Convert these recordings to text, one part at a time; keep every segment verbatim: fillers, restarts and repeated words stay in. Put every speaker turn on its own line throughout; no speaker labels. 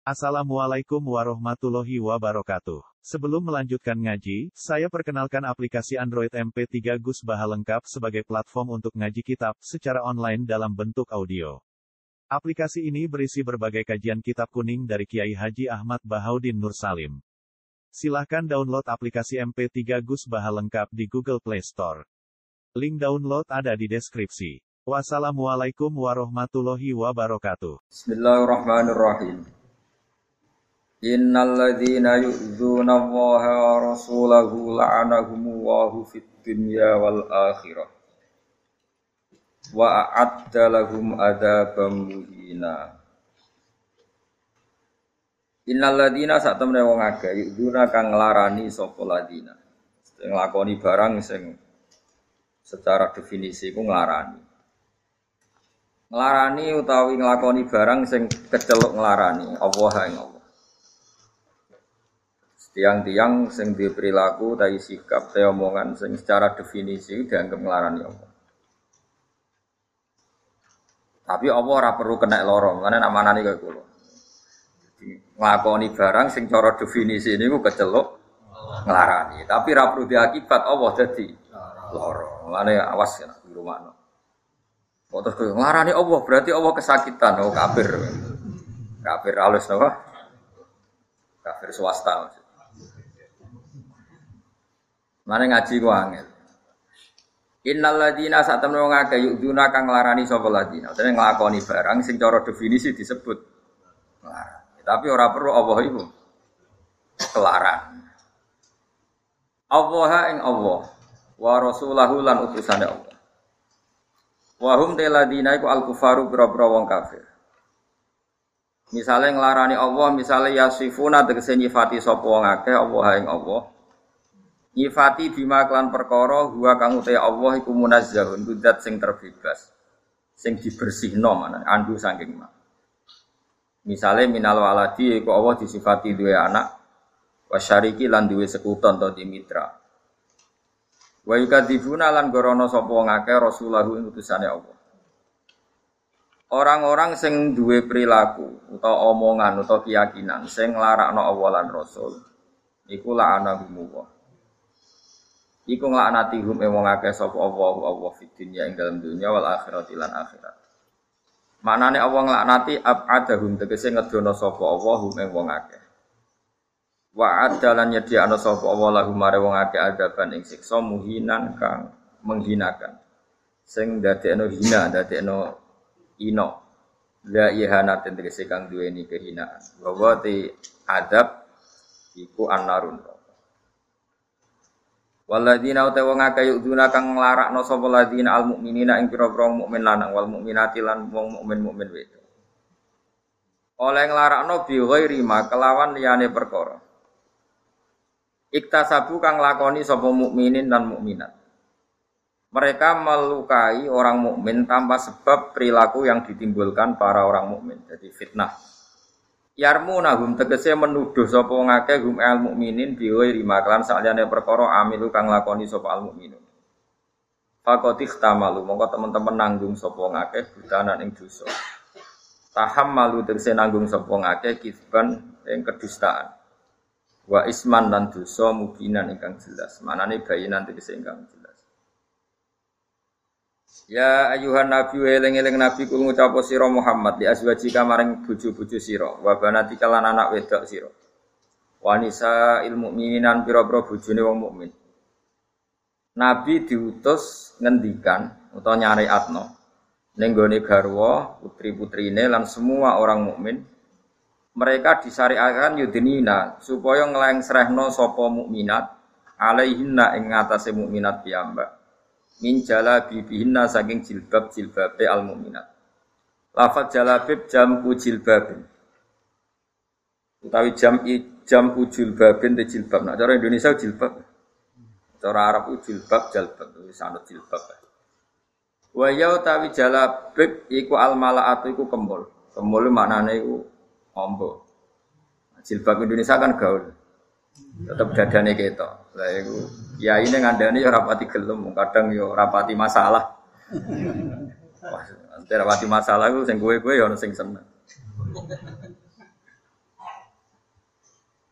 Assalamualaikum warahmatullahi wabarakatuh. Sebelum melanjutkan ngaji, saya perkenalkan aplikasi Android M P tiga Gus Baha lengkap sebagai platform untuk ngaji kitab secara online dalam bentuk audio. Aplikasi ini berisi berbagai kajian kitab kuning dari Kiai Haji Ahmad Bahaudin Nur Salim. Silahkan download aplikasi M P tiga Gus Baha lengkap di Google Play Store. Link download ada di deskripsi. Wassalamualaikum warahmatullahi wabarakatuh.
Bismillahirrahmanirrahim. Innal ladzina yu'dzuna Allaha wa rasulahu la'anahumullahu fid dunya wal akhirah wa a'adda lahum adzaban muhina. Innal ladzina sak temene wong akeh yu'dzuna kang nglarani sapa ladzina. Sing nglakoni barang sing secara definisi iku nglarani. Nglarani utawi nglakoni barang sing keceluk nglarani Allah ing Allah. Tiang-tiang sing duwe perilaku ta sikap ta omongan sing secara definisi dianggap nglarani Allah. Tapi Allah ora perlu kena lara, ngene nak manani kaya kula. Nglakoni barang sing cara definisi niku keceluk nglarani, tapi ora perlu diakibat Allah dadi lara. Mulane awas ya di rumahno. Kok terus nglarani Allah berarti Allah kesakitan, oh kafir. Kafir halus napa? Kafir swasta. Mane ngaji ku angel. Innal ladzina satamna wong akeh yu'dzuna kang nglarani sapa ladzina. Dene nglakoni barang sing cara definisi disebut nglarani. Tapi ora perlu Allah iku kelaran. Allah ing Allah wa rasulahu lan utusane Allah. Wa hum ladzina iku al-kufaru bira-bira wong kafir. Misale nglarani Allah, misale yasifuna tegese nyifati sapa wong akeh Allah ing Allah. Nyifati bima klan perkara huwa kang uta Allah iku munazzahun kudat sing terbebas sing dibersihno manane andu saking mak. Misale minal waladi iku Allah disifati duwe anak wasyariki lan duwe sekuton atau dimitra. Wa yukadzibuna lan gorono sapa wong akeh rasulahu ing utusane Allah. Orang-orang sing duwe perilaku utawa omongan utawa keyakinan sing nglarakno Allah lan Rasul iku la'anahumullah. Iku nglaknati hum wong akeh sapa Allah Allah fid dunya ing dalam dunya wal akhirati lan akhirat. Maknane Allah nglaknati ab'adahum tegese ngedono sapa Allah hum wong akeh. Wa adalan nyediakno sapa Allah lahum mare wong akeh adaban ing siksa muhinan kang menghinakan. Sing dadekno hina, dadekno ino. La ihanatin tegese kang duweni kehinaan. Wa te adab iku annarun. Walladzina utawa wong akeh yu'dzuna kang nglarakno sapa ladzina almukminina ing pira-pira mukmin lanang wal mukminati lan wong mukmin mukmin wedok. Oleh nglarakno bi ghairi ma kelawan liyane perkara. Iktasabu kang lakoni sapa mukminin dan mukminat. Mereka melukai orang mukmin tanpa sebab perilaku yang ditimbulkan para orang mukmin. Jadi fitnah. Yarmunahum tegese menuduh sapa ngakeh hum al mukminin biwa rimaklan saliyane perkara amilu kang lakoni sapa al mukminun. Faqad ikhtamalu mongko teman-teman nanggung sapa ngakeh budanan ing dosa. Tahammalu tegese nanggung sapa ngakeh kizban ing kedustaan. Wa isman lan dosa mubinan ingkang jelas. Manane bayinan tegese ingkang jelas. Ya ayuhan nabi eling-eling nabi kul ngucap sira Muhammad li azwajika maring bojo-bojo sira wa banatika lan anak wedok sira. Wanisa ilmu mukmininan pira-pira bojone wong mukmin. Nabi diutus ngendikan utawa nyariatno ning gone garwa putri-putrine lan semua orang mukmin mereka disyariatkan yudinina supaya nglengsrehno sapa mukminat alaihinna ing ngatasé mukminat piyambak. Min jalabibihinna saking jilbab-jilbabe al-mukminat. Lafaz jalabib jam'u jilbabin. Utawi jam'i jam'u jilbabin te jilbab. Nah, cara Indonesia jilbab. Cara Arab jilbab jalbab, wis ana jilbab. Wa ya utawi jalabib iku al-mala'atu iku kembul. Kembul maknane iku ombo. Jilbab Indonesia kan gaul. Tetep dadane ketok. Lah iku kiai ning ngandani ya rapati gelem, kadang ya rapati masalah. Wah, nek rapati masalah iku sing kowe-kowe ya ono sing seneng.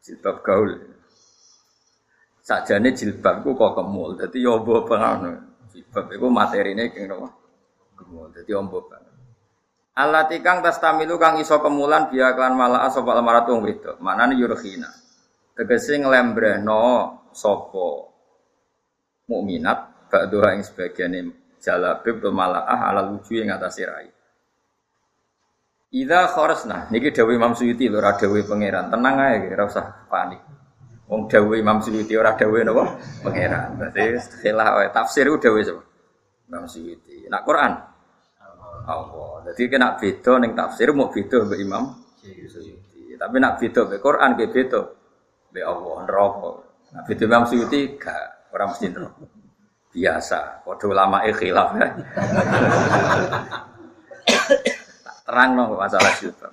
Jilbab gaul. Sakjane jilbab ku kok kemul. Dadi yo mbok ngono. Jilbab iku materine keng napa? Kemul. Dadi ombo banget. Allati kang tastamilu kang iso kemulan biya klan malaa sapa almaratu wong wedok. Manane yurkhina. Tegese nglembrehno sapa mukminat ba'dha ing sebagiane jalabib to malaa ala luju ing atase rai. Idza kharasna niki dawuh Imam Suyuti lho ora dawuh pangeran. Tenang ae ora usah panik. Wong dawuh Imam Suyuti ora dawuh napa? Pangeran. Berarti khilah wae tafsir ku dawuh sapa? Imam Suyuti. Nak Quran Allah. Jadi kena beda ning tafsir mau beda mbek Imam Suyuti. Tapi nak beda mbek Quran ge beda mbek Allah neraka. Nak beda Imam Suyuti gak ora mesti neraka. Biasa, padha ulama e khilaf. Terangno masalah jilbab.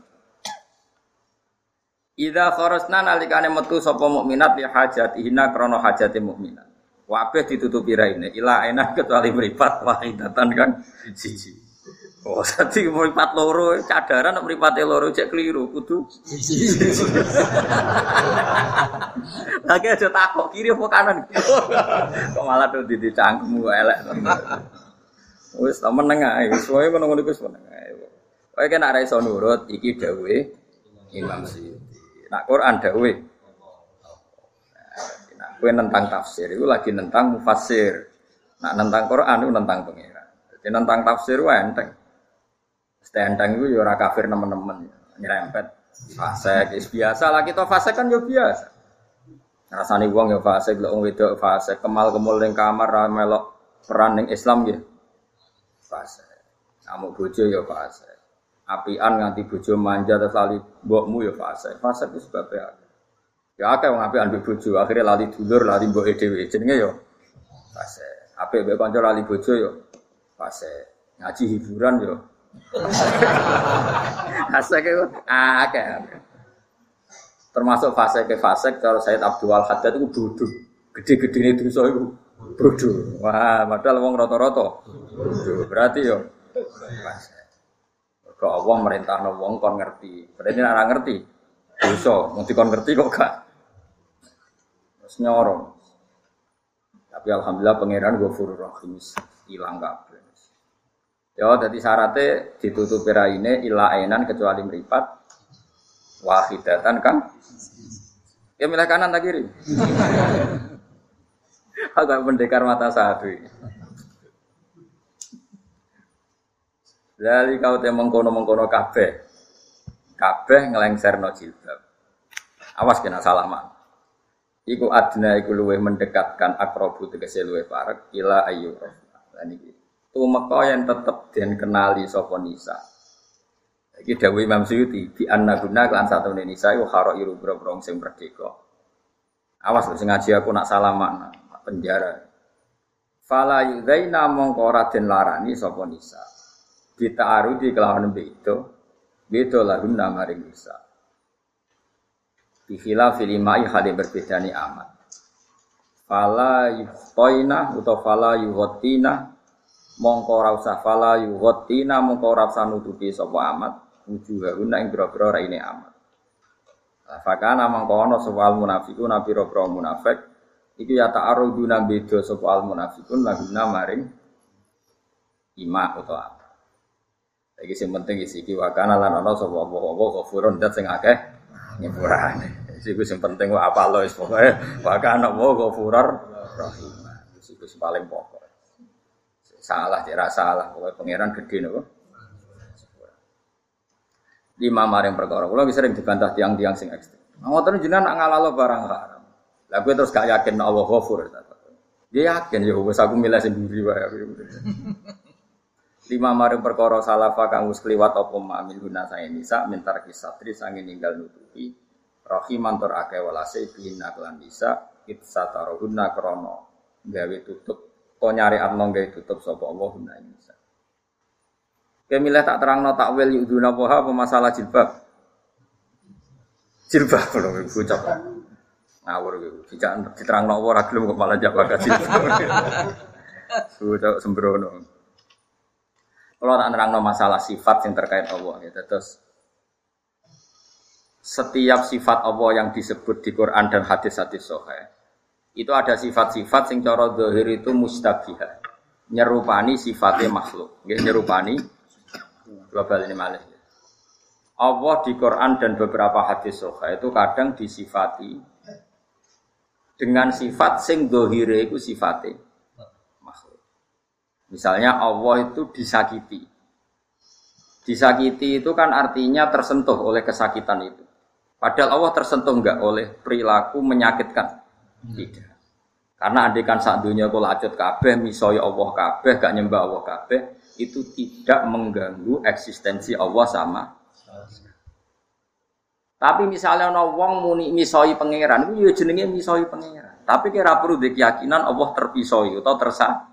Idza kharasna nalikane metu sapa mukminat li hajatihina krana hajate mukminat. Kabeh ditutupi raine ila enak kecuali mripat wahidatan kan siji. Oh, dadi mripat loro cadaran nek mripate loro cek keliru kudu siji. Lagi aja takok kiri apa kanan. Kok malah tuh dicangkemmu elek. Wis ta meneng ae, wis wae ngono-ngono wis meneng ae. Kowe kena ora iso nurut iki dawuhe Imam Suyuti. Nak Quran dawuhe. Nah, kowe nentang tafsir iku lagi nentang mufassir. Nak nentang Quran iku nentang pengira. Jadi nentang tafsir wae enteng. Stenteng iku ya ora kafir nemen-nemen, nyerempet fasik wis biasa lah kita fasik kan yo biasa. Rasane wong ya fasik, lek wong wedok fasik, kemal-kemul ning kamar ra melok peran ning Islam nggih. Fasik. Amuk bojo ya fasik. Apian nganti bojo manja terus lali mbokmu ya fase. Fase itu sebabnya akeh. Ya akeh wong apian mbek bojo, akhire lali dulur, lali mboke dhewe. Jenenge ya fase. Apik mbek kanca lali bojo ya fase. Ngaji hiburan ya. Fase ke akeh. Termasuk fase ke fase kalau Said Abdul Haddad itu bodoh. Gede-gedene dosa iku bodoh. Wah, padahal wong rata-rata bodoh. Berarti ya fase. Kok Allah merintahno wong kon ngerti. Berarti nek ora ngerti dosa, mung dikon ngerti kok gak. Terus nyorong. Tapi alhamdulillah pangeran Ghafurur Rahim ilang kabeh. Ya dadi syaratnya ditutupi raine ila ainan kecuali mripat wahidatan kan. Ya milih kanan ta kiri. Agak mendekar mata satu ini. Lali kau te mengkono-mengkono kabeh. Kabeh ngelengserno jilbab. Awas kena salaman. Iku adna iku luweh mendekatkan akrobu tegese luweh parek ila ayu. Lan iki tumeka yen tetep den kenali sapa nisa. Iki dawuh Imam Suyuti di annaguna lan satune nisa iku kharairu bro-bro sing merdeka. Awas lho sing ngaji aku nak salaman penjara. Fala yudaina mongko ora den larani sapa nisa. Kita arudi kelawan beto, beto lahun namaring bisa. Bihila filimai hal yang berbeda ni amat. Fala yuhtoina atau fala yuhotina, mongko rausa fala yuhotina mongko rausa nutupi sopo amat. Wujuh guna ing biro-biro raine amat. Fakana mongko ono soal munafikun nabi biro munafik. Iki ya ta'arudu bedo soal munafikun lahun namaring ima atau amat. Iki sing penting iki iki wakana lan ana sapa apa-apa ghafurun dat sing akeh nyepurane. Iki sing penting wae apa lo wis pokoke wakana wa ghafurur rahim. Iki sing paling pokok. Salah ora salah pokoke pangeran gedhe napa. Lima maring perkara kula wis sering dibantah tiang-tiang sing ekstrem. Ngoten jenengan nak ngalalo barang haram. Lah kowe terus gak yakin Allah ghafur ta. Dia yakin ya wis aku milih sendiri wae. Lima maring perkara salafa kang wis kliwat apa mamil guna sae nisa mintar kisatri sange ninggal nutupi rahiman tur akeh walase bina lan bisa itsataruhunna krana gawe tutup to nyari atno gawe tutup sapa Allah guna nisa. Kemilah tak terangno takwil yuduna apa masalah jilbab. Jilbab lho bocah. Ngawur iki dijak diterangno ora gelem kok malah jawab jilbab. Sudah sembrono. Kalau tak nerangno masalah sifat yang terkait Allah, ya terus setiap sifat Allah yang disebut di Quran dan hadis-hadis sahih itu ada sifat-sifat sing cara zahir itu mustabihah, nyerupani sifatnya makhluk, nggih nyerupani global ini malah. Allah di Quran dan beberapa hadis sahih itu kadang disifati dengan sifat sing zahire iku sifate makhluk. Misalnya Allah itu disakiti. Disakiti itu kan artinya tersentuh oleh kesakitan itu. Padahal Allah tersentuh enggak oleh perilaku menyakitkan. Tidak. Karena andekan sak dunya kula acut kabeh misoi Allah kabeh gak nyembah Allah kabeh itu tidak mengganggu eksistensi Allah sama. Tapi misalnya ana wong muni misoi pangeran iku ya jenenge misoi pangeran. Tapi kira perlu keyakinan Allah terpisoi atau tersa.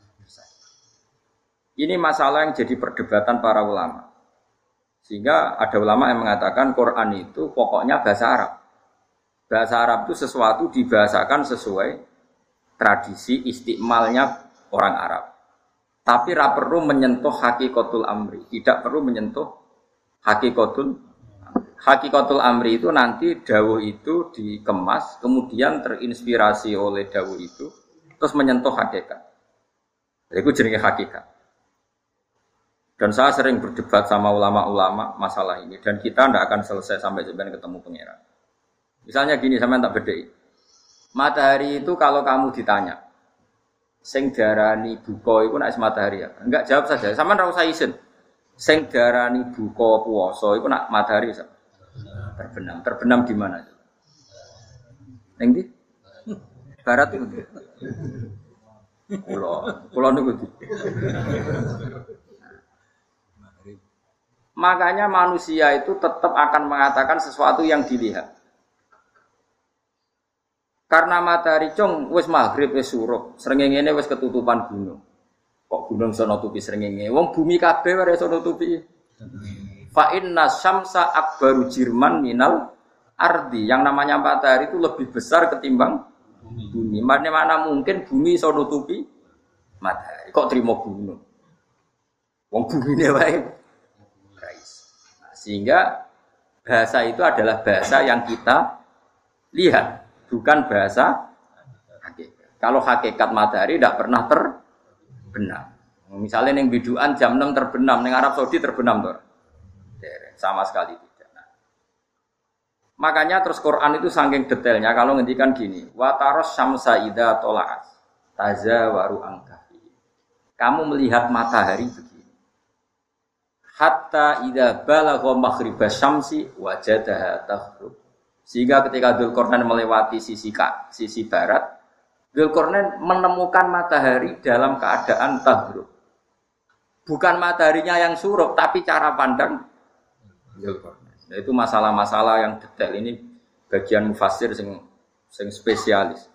Ini masalah yang jadi perdebatan para ulama. Sehingga ada ulama yang mengatakan Quran itu pokoknya bahasa Arab. Bahasa Arab itu sesuatu dibahasakan sesuai tradisi istimalnya orang Arab. Tapi tidak perlu menyentuh hakikatul amri. Tidak perlu menyentuh hakikatul hakikatul amri itu nanti dawuh itu dikemas, kemudian terinspirasi oleh dawuh itu, terus menyentuh hakikat. Itu jenenge hakikat. Dan saya sering berdebat sama ulama-ulama masalah ini. Dan kita tidak akan selesai sampai sebenarnya ketemu pangeran. Misalnya gini, sampean tak bedheki. Matahari itu kalau kamu ditanya, sing darani buka iku nek matahari ya. Enggak jawab saja. Sampean ora usah isin. Sing darani buka puasa iku nek matahari ya. Terbenam. Terbenam di mana? Ning ndi? Barat itu. Kulo, kulo niku ndi? Makanya manusia itu tetap akan mengatakan sesuatu yang dilihat. Karena matahari cung wis maghrib wis surup, srengenge wis ketutupan gunung. Kok gunung iso nutupi srengenge? Wong bumi kabeh ora iso nutupi. Fa inna syamsa akbaru jirman minal ardi. Yang namanya matahari itu lebih besar ketimbang bumi. Mana mana mungkin bumi iso nutupi matahari. Kok trimo gunung? Wong bumine wae. Nah, sehingga bahasa itu adalah bahasa yang kita lihat. Bukan bahasa hakikat. Kalau hakikat matahari tidak pernah terbenam. Misalnya yang biduan jam enam terbenam, yang Arab Saudi terbenam tuh. Sama sekali tidak. Nah. Makanya terus Quran itu saking detailnya kalau ngendikan gini, wa taros syamsa idza tola'at tazawaru angkafi. Kamu melihat matahari begini. Hatta idza balagha maghribas syamsi wajadaha taghrub. Sehingga ketika Dzulqarnain melewati sisi sisi barat, Dzulqarnain menemukan matahari dalam keadaan taghrub. Bukan mataharinya yang surup, tapi cara pandang Dzulqarnain. Nah, itu masalah-masalah yang detail ini bagian mufassir sing sing spesialis.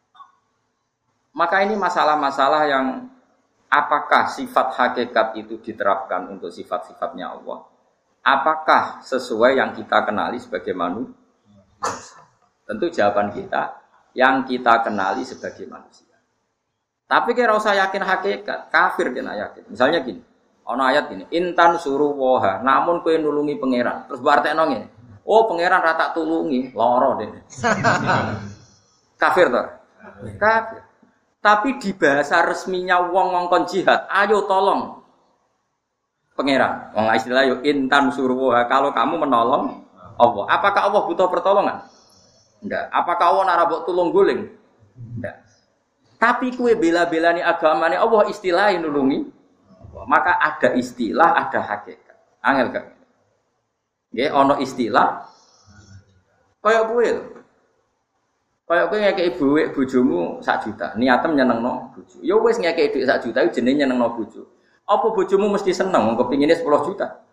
Maka ini masalah-masalah yang apakah sifat hakikat itu diterapkan untuk sifat-sifatnya Allah? Apakah sesuai yang kita kenali sebagai manusia? Tentu jawaban kita yang kita kenali sebagai manusia. Tapi kira usah yakin hakikat, kafir kena yakin. Misalnya gini, ana ayat gini, intan suruh woha, namun kowe nulungi pangeran. Terus berarti ngene, oh pangeran ra tak tulungi, lara dene. Kafir toh? Kafir. Tapi di bahasa resminya wong ngongkon jihad, ayo tolong pangeran. Wong istilah yo intan suruh woha, kalau kamu menolong Allah. Apakah Allah butuh pertolongan? Enggak. Apakah Allah nak rabok tulung guling? Enggak. Tapi kue bela-belani agamane Allah istilahin nulungi. Maka ada istilah, ada hakikat. Angel kan? Nggih, ana istilah. Kayak kowe lho. Kayak kowe ngekeki dhuwit bojomu sak juta, niatem nyenengno bojo. Ya wis ngekeki dhuwit sak juta iku jenenge nyenengno bojo. Apa bojomu mesti seneng wong kepingine sepuluh juta?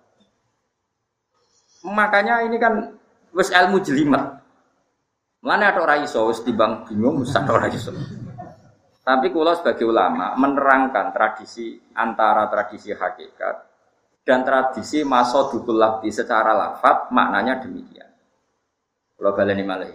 Makanya ini kan wis ilmu jelimet. Mulane ada ora iso wis timbang bingung wis ora iso. Tapi kula sebagai ulama menerangkan tradisi antara tradisi hakikat dan tradisi masodukul lafzi secara lafaz maknanya demikian. Kula baleni malih.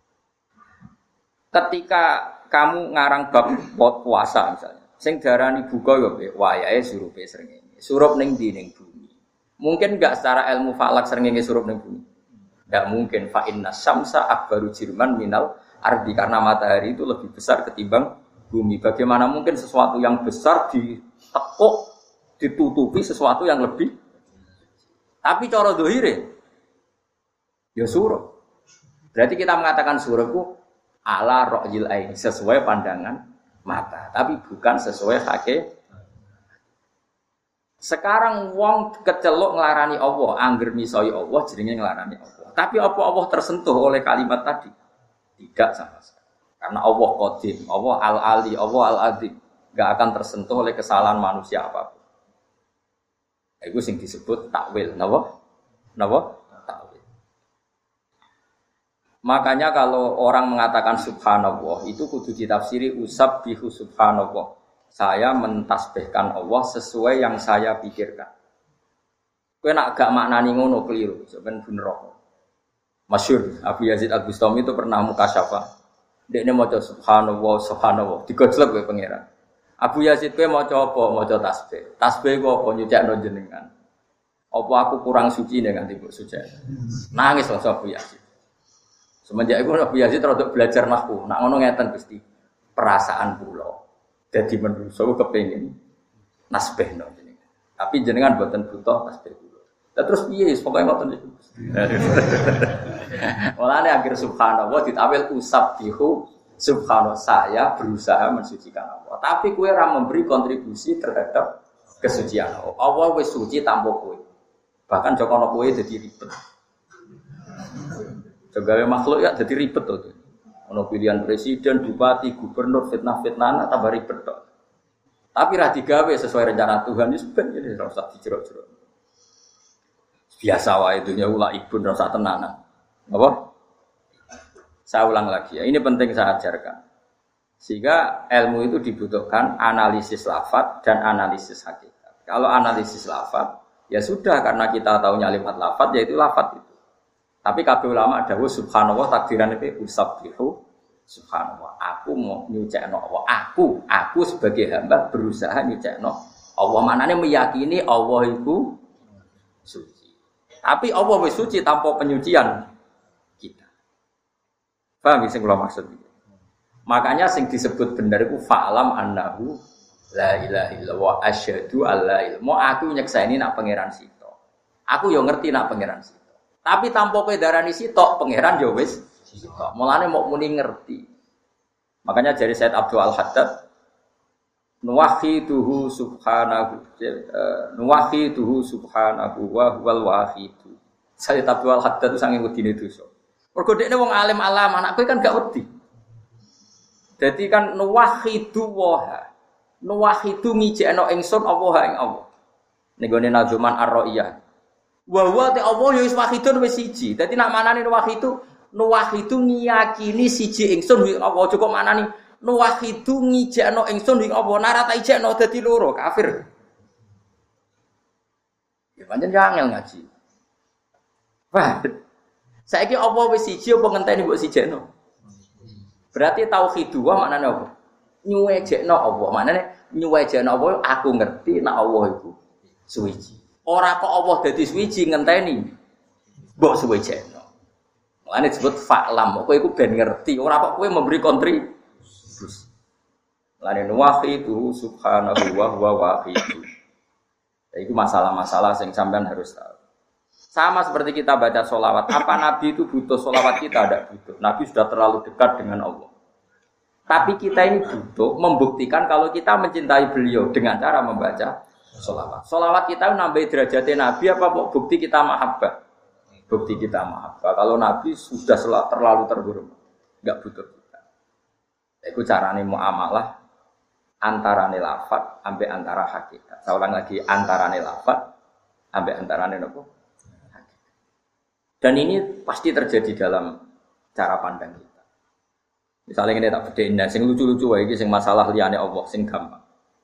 Ketika kamu ngarang bab puasa misalnya, sing darani buka yo wayahe surupe srengenge. Surup ning ndi ning bumi. Mungkin enggak secara ilmu falak srengenge surup ning bumi. Tidak mungkin fa inna syamsa akbaru jirman minal ardi karena matahari itu lebih besar ketimbang bumi. Bagaimana mungkin sesuatu yang besar ditekuk ditutupi sesuatu yang lebih? Tapi cara dohire ya surah. Berarti kita mengatakan surah itu ala ra'yil ain sesuai pandangan mata, tapi bukan sesuai hakikat. Sekarang wong kecelok nglarani Allah, angger misoi Allah jenenge nglarani Allah. Tapi apa Allah tersentuh oleh kalimat tadi? Tidak sama sekali. Karena Allah Qadim, Allah Al-Ali, Allah Al-Azim, enggak akan tersentuh oleh kesalahan manusia apapun. Itu sing disebut takwil, napa? Napa? Takwil. Makanya kalau orang mengatakan subhanallah, itu kudu ditafsiri usabbihu subhanallah. Saya mentasbihkan Allah sesuai yang saya pikirkan. Kowe nak gak maknani ngono keliru, sampeyan bener. Masyhur Abu Yazid Al-Bustami itu pernah mukasyafah. Dekne maca subhanallah subhanallah, digojlok kowe pangeran. Abu Yazid kowe maca apa? Maca tasbih. Tasbih ku apa nyucikno jenengan. Apa aku kurang suci nek nganti mbok suci. Nangis langsung Abu Yazid. Semenjak itu Abu Yazid rada belajar nahwu. Nak ngono ngeten Gusti. Perasaan kula dadi menungso kepengin nasbihno jenengan. Tapi jenengan mboten butuh tasbih kula. Lah terus piye pokoke ngoten niku. Walane akhir subhanallah ditawil usabbihu subhanallah saya berusaha mensucikan Allah. Tapi kowe ora memberi kontribusi terhadap kesucian Allah. Allah wis suci tanpa kowe. Bahkan jokono kowe dadi ribet. Sebagai makhluk ya jadi ribet tuh. Ono pilihan presiden, bupati, gubernur, fitnah-fitnah, tambah ribet tuh. Tapi ra digawe sesuai rencana Tuhan itu sebenarnya ora usah dijerok-jerok. Biasa wae dunya ula ibu ora usah tenanan. Apa? Saya ulang lagi ya. Ini penting saya ajarkan. Sehingga ilmu itu dibutuhkan analisis lafaz dan analisis hakikat. Kalau analisis lafaz ya sudah karena kita tahu nyalimat lafaz yaitu lafaz itu. Tapi kabeh ulama dawuh subhanallah takdirane pe usabbihu subhanallah. Aku mau nyucikno Allah. Aku, aku sebagai hamba berusaha nyucikno Allah. Manane meyakini Allah itu suci. Tapi Allah wis suci tanpa penyucian kita. Paham sing kula maksud iki? Makanya sing disebut bener iku fa'lam annahu la ilaha illallah asyhadu alla ilaha. Mau aku nyekseni nak pangeran sito. Aku yo ngerti nak pangeran sito. Tapi tanpa kowe darani sitok, pangeran yo wis sitok. Mulane mok muni ngerti. Makanya dari Said Abdul Al-Haddad nuwahhiduhu subhanahu nuwahhiduhu subhanahu wa huwal wahidu. Said Abdul Al-Haddad itu sange wedine dosa. Mergo dekne wong alim alam, anak kowe kan gak wedi. Dadi kan nuwahhidu wa nuwahhidu ngijekno ingsun Allah ing Allah. Ning gone Nazuman Ar-Ra'iyah. Wa wa ta Allah ya wis wahidun wis siji. Dadi nak manani wahidu nuwahidu ngiyakini siji ingsun ing Allah. Aja kok manani nuwahidu ngijekno ingsun ing Allah. Nara ta ijekno dadi loro kafir. Ya pancen jangel ngaji. Wah. Saiki apa wis siji apa ngenteni mbok sijekno? Berarti tauhid wa maknane apa? Nyuwejekno Allah. Maknane nyuwejekno Allah aku ngerti nek Allah iku suci. Ora kok Allah dadi suci ngenteni mbok suwejekno. Mulane disebut fa'lam. Kowe iku ben ngerti, ora kok kowe memberi kontribusi. Mulane wahidu subhanahu wa huwa wahidu. Itu masalah-masalah yang sampean harus tahu. Sama seperti kita baca sholawat. Apa Nabi itu butuh sholawat kita? Tidak butuh. Nabi sudah terlalu dekat dengan Allah. Tapi kita ini butuh membuktikan kalau kita mencintai beliau dengan cara membaca sholawat. Sholawat kita nambah derajatnya Nabi apa bukti kita mahabbah? Bukti kita mahabbah. Kalau Nabi sudah terlalu terhormat, nggak butuh kita. Itu caranya muamalah antara lafaz sampai antara hakikat. Saya ulang lagi antara lafaz sampai antara apa? Dan ini pasti terjadi dalam cara pandang kita. Misalnya ini tak bedain, sing lucu-lucu wae iki sing masalah liyane Allah sing gampang.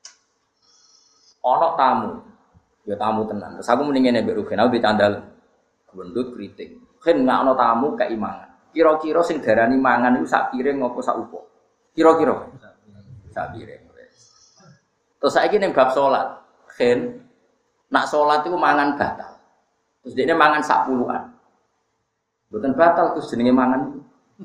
Ana tamu, ya tamu tenan. Terus aku mending ngene mbek Rugen, aku dicandal gendut kriting. Ken nek ana tamu keimangan. Kira-kira sing darani mangan iku sak piring apa sak upuk? Kira-kira sak piring. Terus saiki ning bab salat, Ken nak salat iku mangan batal. Terus dekne mangan sak puluhan. Mboten batal Gus jenenge mangan.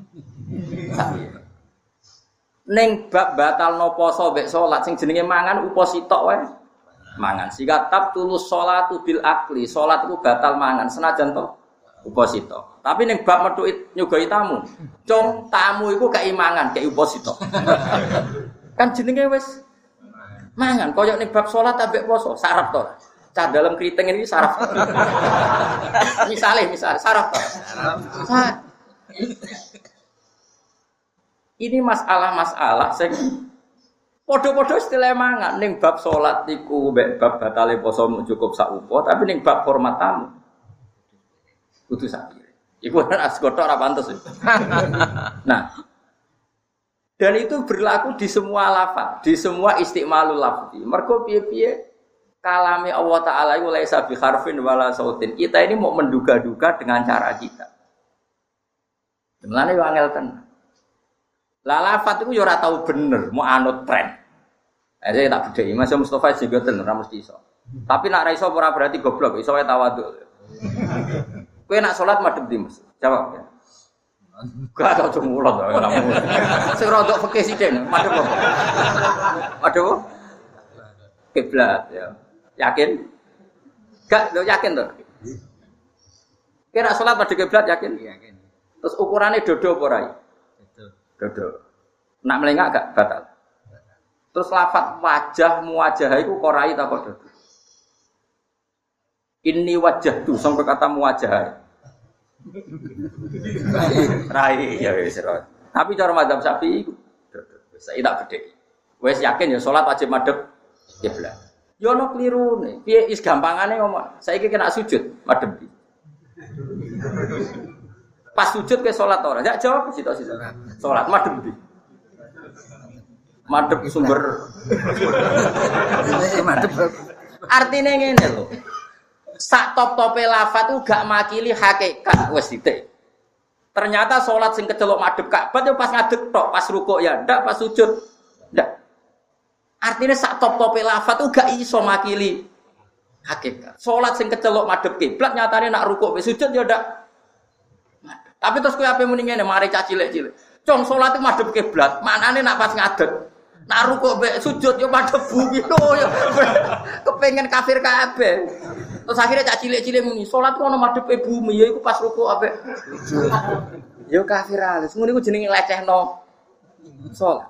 Ning bab batalno poso mek salat sing jenenge mangan upo sitok wae. Mangan. Sika tab tulus salatu bil akli, salat iku batal mangan senajan to upo sitok. Tapi ning bab metu nyugoi tamu, cung tamu iku gak imangan, gak upo sitok. Kan jenenge wis mangan koyo ning bab salat ambek poso, saraf to. Cah dalam keriting ini saraf. Misale, misale saraf to. Saraf. Ini masalah-masalah sing padha-padha istilah mangan ning bab salat niku mbek bab batale poso cukup sak upo, tapi ning bab hormat tamu kudu sakire. Iku kan asgoto ora pantes. Nah, dan itu berlaku di semua lafaz, di semua istimalul lafzi. Mergo piye-piye kalame Allah Taala iku laisa bi harfin wala sautin. Kita ini mau menduga-duga dengan cara kita. Mulane yo angel tenan. Lah lafaz iku yo ora tau bener, mau anut tren. Aja tak bedheki, Mas Mustofa sing ngoten ora mesti iso. Tapi nek ra iso ora berarti goblok, iso wae tawadhu. Kowe nak salat madhep ndi, Mas? Jawab ya. Gak tau cemulot ora mung. Sing rodok fikih sithik, madhep apa? Madhep kiblat ya. Yakin? Gak, lo yakin to? Kira salat madhep kiblat yakin? Yakin. Terus ukurannya dodo apa ora? Dodo. Nak melengak gak batal. Terus lafaz wajah muwajah iku korai ta kok dodo. Ini wajah tuh sampai kata muwajah. Rai ya wis ora. Tapi cara mazhab Syafi'i iku dodo. Wis tak bedheki. Wis yakin ya salat wajib madhep kiblat. Ya ono klirune. Piye is gampangane ngomong. Saiki kena sujud madhep iki. Pas sujud ke salat ora? Ya jawab sitok-sitok. Salat madhep iki. Madhep sumber. Madhep. Artine ngene lho. Sak top-tope lafaz ku gak makili hakikat wis titik. Ternyata salat sing kecelok madhep Ka'bah yo pas ngadeg tok, pas rukuk ya ndak, pas sujud ndak. Artinya sak top-tope lafaz ku gak iso makili hakikat. Salat sing kecelok madhep kiblat nyatane nak rukuk wis sujud yo ndak. Tapi terus kowe ape muni ngene mari cah cilik-cilik. Cung salat iku madhep kiblat, maknane nak pas ngadeg. Nak rukuk mbek sujud yo madhep bumi lho yo. Kepengen kafir kabeh. Terus akhirnya cak cilik-cilik muni, salat ku ono madhepe bumi, ya iku pas rukuk ambek. Yo kafir alis, ngono iku jenenge lecehno salat.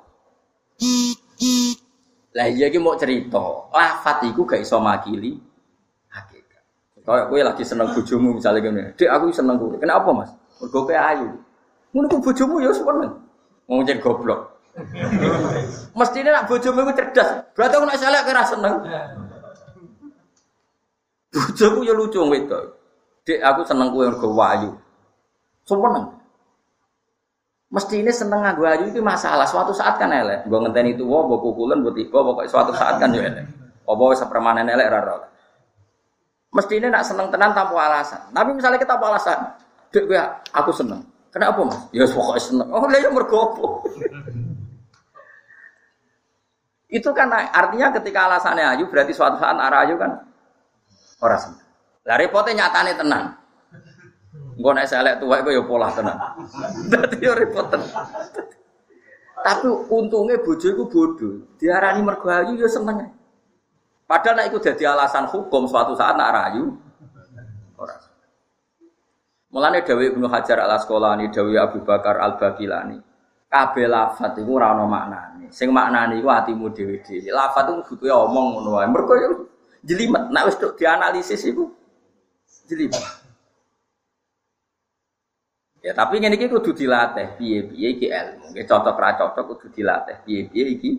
Lah iya iki mau cerita, lafaz iku gak iso makili hakikat. Kayak kowe lagi seneng bojomu misale ngene. Dik aku seneng kowe. Kenapa, Mas? Mergo kowe ayu. Ngono ku bojomu ya seneng. Wong jen goblok. Mestine nak bojomu iku cerdas. Berarti aku nek selek kowe ora seneng. Bojoku ya lucu wedok. Dik aku seneng kowe mergo wayu. Seneng. Mesti ini seneng nganggo ayu itu masalah. Suatu saat kan elek. Nggo ngenteni tuwa, mbok kukulen, mbok tiba, pokoke suatu saat kan yo elek. Apa wis permanen elek ora ora. Mesti ini nak seneng tenan tanpa alasan. Tapi misalnya kita apa alasan? Dik kowe aku seneng. Kenapa, Mas? Ya pokoke seneng. Oh, lha yo mergo apa? Itu kan artinya ketika alasannya ayu berarti suatu saat arah ayu kan ora seneng. Lah repote nyatane tenan. Engko nek selek tuwek kok ya polah tenan. Dadi yo repot tenan. Tapi untunge bojo iku bodoh. Diarani mergo ayu ya seneng. Padahal nek iku dadi alasan hukum suatu saat nek ayu ora. Mulane dawuh Ibnu Hajar Al-Asqalani, dawuh Abu Bakar Al-Baqilani. Kabeh lafaz iku ora ana maknane. Sing maknane iku atimu dhewe-dhewe. Lafaz iku butuhe omong ngono wae. Mergo yo jelimet, nek wis dianalisis iku jelimet. Ya tapi ngene iki kudu dilatih, piye-piye iki ilmu. Nggih cocok ra cocok kudu dilatih, piye-piye iki.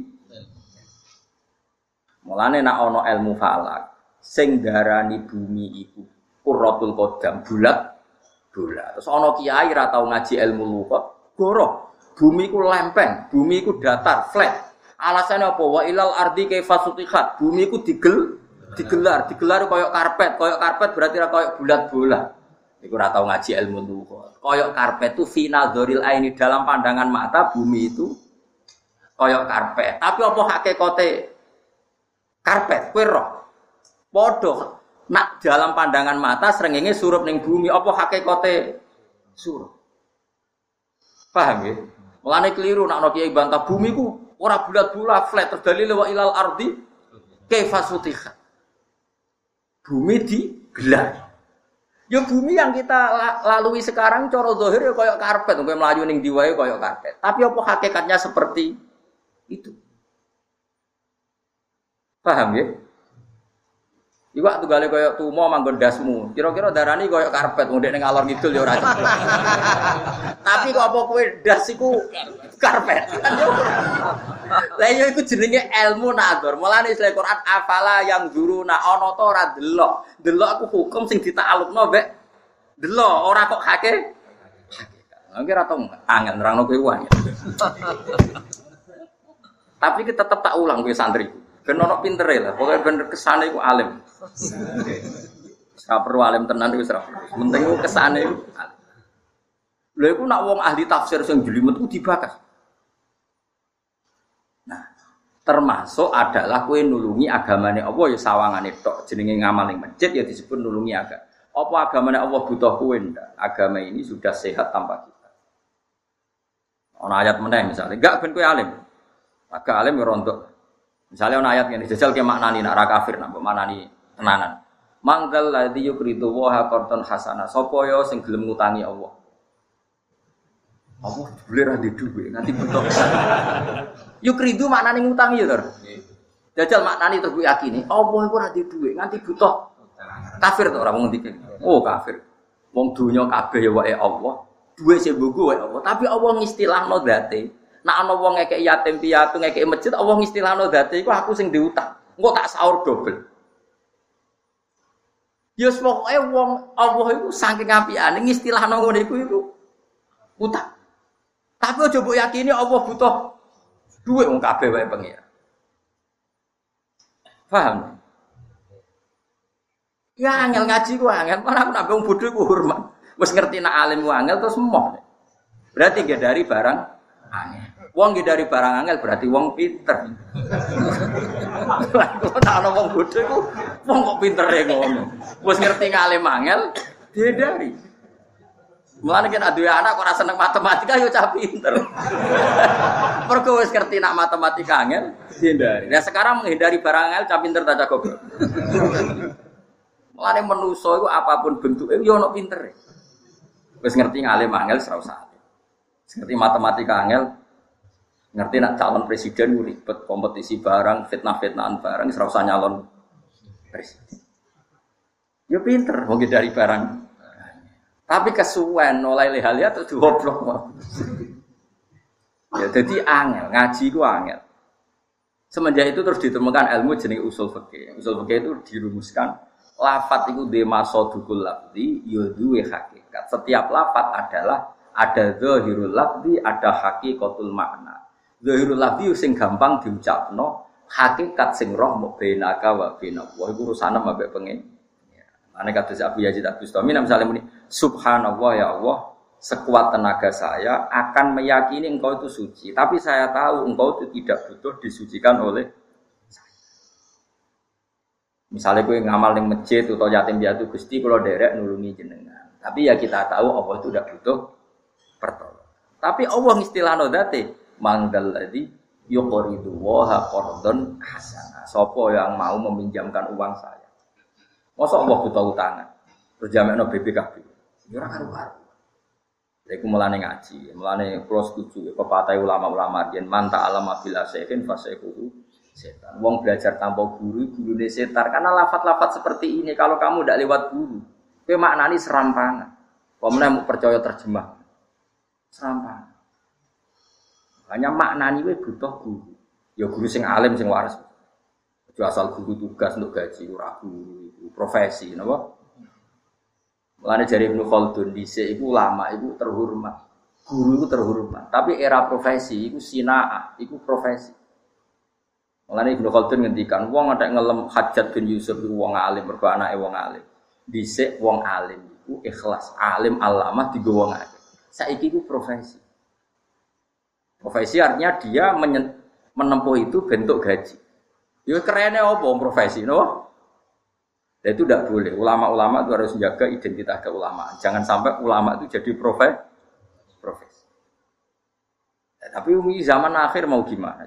Mulane nek ana ilmu falak, sing darani bumi iku Qurratul Qadam, bulat-bulat. Terus ana kiai ra tau ngaji ilmu lughat, goroh. Bumi iku lempeng, bumi iku datar, flat. Alasane apa? Wa ilal ardi kaifa sutihat. Bumi iku digel digelar, digelar koyok karpet, koyok karpet berarti ora koyok bulat-bulat. Iku ora tau ngaji ilmu lughat. Koyok karpet itu final dzoril aini dalam pandangan mata bumi itu koyok karpet. Tapi apa hakikate karpet? Kowe roh. Padha nak dalam pandangan mata srengenge surup ning bumi apa hakikate surah. Paham ya? Mulane keliru nak ana kiai bantah bumi ku ora bulat-bulat flat terdalil wa ilal ardi kaifa sutiha. Bumi digelar. Ya bumi yang kita lalui sekarang cara zahir ya koyo karpet, koyo mlayu ning ndi wae koyo karpet. Tapi apa hakikatnya seperti itu? Paham ya? Iwak tunggale koyo tumo manggon dasmu. Kira-kira darani koyo karpet, wong nek ngalor ngidul ya ora. Tapi kok apa kowe das iku karpet? Lah yo iku jenenge ilmu nazar. Mulane Islam Quran afala yang zuruna ana ta ora delok. Delok aku hukum sing ditaklukno mbek delok, ora kok hake. Hakikat. Nggih ora tau angel nerangno kowe wae. Tapi kita tetap tak ulang kowe santri. Ben ono pintere lah, pokoke ben kesane iku alim. Ora perlu alim tenan iku ora. Penting iku kesane iku alim. Lha iku nak wong ahli tafsir sing jelimet ku dibakas. Nah, termasuk adalah kowe nulungi agamane Allah ya sawangane tok. Jenenge ngamal ning masjid ya disebut nulungi agama. Apa agamane Allah butuh kowe ndak? Agama ini sudah sehat tanpa kita. Ono ayat meneh misalnya, enggak ben kowe alim. Agak alim ya rontok. Misalnya ana ayat ngene, jajal ke maknani nak ra kafir nak maknani tenanan. Mangkal ladzi yukridu wa qardan hasana. Sapa ya sing gelem ngutangi Allah? Allah boleh ra di dhuwit nganti butuh. Yukridu maknane ngutangi ya, Lur. Jajal maknani terus yakini, Allah iku ra di dhuwit nganti butuh. Kafir to ora wong ngendike. Oh, kafir. Wong donya kabeh ya wae Allah. Duwe sing mbungku wae Allah, tapi Allah ngistilahno zate. Nek ana wong ngekeki yatim piatu ngekeki masjid Allah ngistilahno zate iku aku sing diutang. Engko tak sahur dobel. Ya pokoke wong Allah iku saking apikane ngistilahno ngene iku iku utang. Tapi aja mbok yakini Allah butuh duit wong kabeh wae pengira. Paham? Ya angel ngaji ku angel, ora aku nak wong bodho ku hormat. Wis ngerti nak alim ku angel terus emoh. Berarti nggih dari barang angel. Wong nggih dari barang angel berarti wong pinter. Kok tak ana wong bodho iku wong kok pintere ngono. Wis ngerti ngalim angel dihindari. Mulane kan duwe anak kok ora seneng matematika yo cah pinter. Mergo wis ngerti nak matematika angel dihindari. Nah sekarang menghindari barang angel cah pinter ta cah goblok. Mulane manusa iku apapun bentuke yo ono pintere. Wis ngerti ngalim angel ora usah. Ngerti matematika angel, ngerti nak calon presiden ku ribet, kompetisi barang, fitnah-fitnahan barang, ora usah nyalon presiden. Yo pinter wong dari barang. Tapi kesuwen oleh lehalia terus goblok. Ya dadi angel, ngaji ku angel. Semenjak itu terus ditemukan ilmu jenenge usul fikih. Usul fikih itu dirumuskan lafat iku de masodukul lafzi ya duwe hakikat. Setiap lafat adalah ada zahirul lafzi, ada hakikatul makna. Zahirul lafzi sing gampang diucapno, hakikat sing roh mbok benaka wa benaka. Wah iku urusane mbek pengen. Ane kados Abu Yazid Al-Bustami misalnya muni subhanallah ya Allah, sekuat tenaga saya akan meyakini engkau itu suci, tapi saya tahu engkau itu tidak butuh disucikan oleh saya. Misalnya kowe ngamal ning masjid atau yatim piatu Gusti kula derek nulungi jenengan. Tapi ya kita tahu Allah itu tidak butuh pertolongan. Tapi Allah ngistilahno dzate mangdal ladzi yuqridu wa qardan hasana. Sapa yang mau meminjamkan uang saya? Masa Allah butuh utangan? Terus jamekno B P K B. Ya ora karo-karo. Lha iku mulane ngaji, mulane kula setuju pepatah ulama-ulama yen manta alama bila sehin fasaihu setan. Wong belajar tanpa guru, gurune setan. Karena lafaz-lafaz seperti ini kalau kamu ndak lewat guru, kowe maknani serampangan. Kok meneh mau percaya terjemah. Serampangan. Hanya maknani kowe butuh guru. Ya guru sing alim sing waras. Aja asal guru tugas untuk gaji ora guru. Profesi, napa? Mulane jare Ibnu Khaldun dhisik iku ulama iku terhormat. Guru iku terhormat, tapi era profesi iku sinaah, iku profesi. Mulane Ibnu Khaldun ngendikan wong nek ngelem Hajjat bin Yusuf iku wong alim, mergo anake wong alim. Dhisik wong alim iku ikhlas, alim alamah digo wong alim. Saiki iku profesi. Profesi artinya dia menempuh itu bentuk gaji. Ya kerene apa profesi, no? Dan itu tidak boleh. Ulama-ulama itu harus menjaga identitas keulamaan. Jangan sampai ulama itu jadi profes, profes. Ya, tapi umi zaman akhir mau gimana?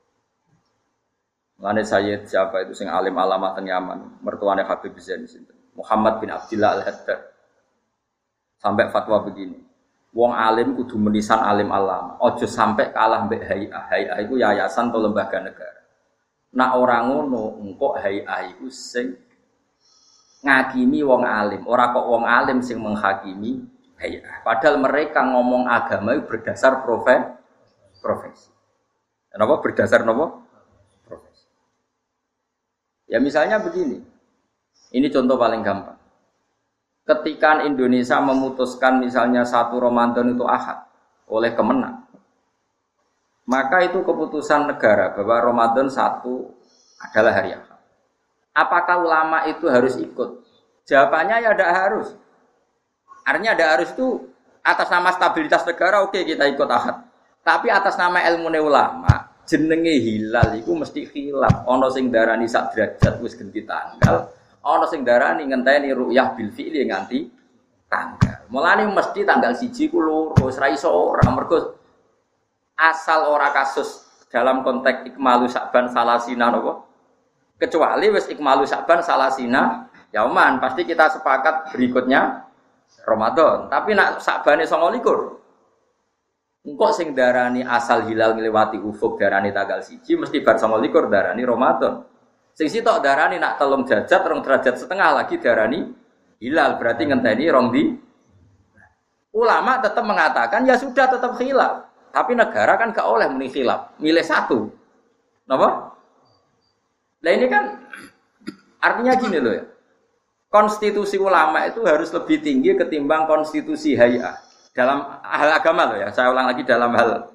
Mulane Sayyid siapa itu sing alim alamat teng Yaman, mertuane Habib Zain sinten? Muhammad bin Abdullah Al-Haddad. Sampai fatwa begini. Wong alim kudu menisan alim alama. Ojo sampai kalah mbek Hay'ah. Hay'ah iku yayasan atau lembaga negara. Nak ora ngono, engko Hay'ah iku sing ngakimi wong alim, ora kok wong alim sing menghakimi hayah. Padahal mereka ngomong agama itu berdasar profesi. Profesi. Kenapa berdasar napa? Profesi. Ya misalnya begini. Ini contoh paling gampang. Ketika Indonesia memutuskan misalnya satu Ramadan itu Ahad oleh Kemenang, maka itu keputusan negara bahwa Ramadan satu adalah hari Ahad. Apakah ulama itu harus ikut? Jawabannya ya tidak harus. Artinya tidak harus itu atas nama stabilitas negara, oke kita ikut Ahad. Tapi atas nama ilmu ulama, jenenge hilal itu mesti khilaf. Ono sing darani sak derajat wis ganti tanggal, ono sing darani ngenteni ru'yah bil fi'li nganti tanggal. Mulane mesti tanggal siji ku loro, wis ra iso ora mergo asal ora kasus dalam konteks ikmalu Sa'ban salasina napa? Kecuali wis ikmalu Sa'ban salasina yauman, pasti kita sepakat berikutnya Ramadan. Tapi nak Sa'bane songo likur. Engko sing darani asal hilal ngliwati ufuk darani tanggal siji mesti bar songo likur darani Ramadan. Sing sitok darani nak telung derajat, rong derajat setengah lagi darani hilal, berarti ngenteni rong di. Ulama tetap mengatakan ya sudah tetap khilaf. Tapi negara kan gak oleh muni khilaf, milih satu. Napa? Nah ini kan artinya gini loh ya. Konstitusi ulama itu harus lebih tinggi ketimbang konstitusi hay'ah. Dalam hal agama loh ya. Saya ulang lagi dalam hal.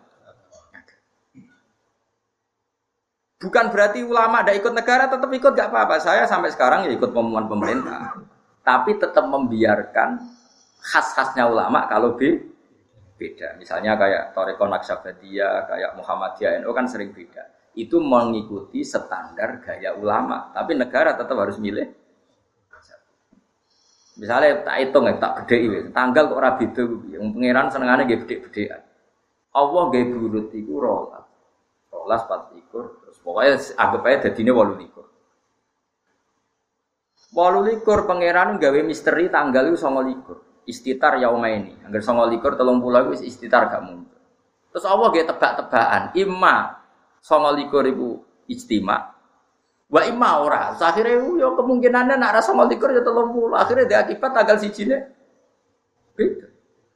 Bukan berarti ulama ada ikut negara tetap ikut gak apa-apa. Saya sampai sekarang ya ikut pengumuman pemerintah. Tapi tetap membiarkan khas-khasnya ulama kalau beda. Misalnya kayak Thariqah Naqsabandiyah, kayak Muhammadiyah N U kan sering beda. Itu mengikuti standar gaya ulama, tapi negara tetap harus milih. Misalnya tak hitung ya, tak bedheki tanggal kok ora beda kuwi. Wong pangeran senengane nggih bedhek-bedhekan. Allah nggih burut iku rolas. Rolas pat likur, terus pokoknya anggap ae dadine wolu likur. wolu likur pangeran gawe misteri tanggal iku songo likur. Istitar yaumaini. Angger songo likur telung puluh wis istitar gak muncul. Terus Allah nggih tebak-tebakan, imma songo likur iku ijtima. Wa imma ora. Akhire yo kemungkinannya nek ora songo likur ya telung puluh. Akhire dia akibat tanggal sijine beda.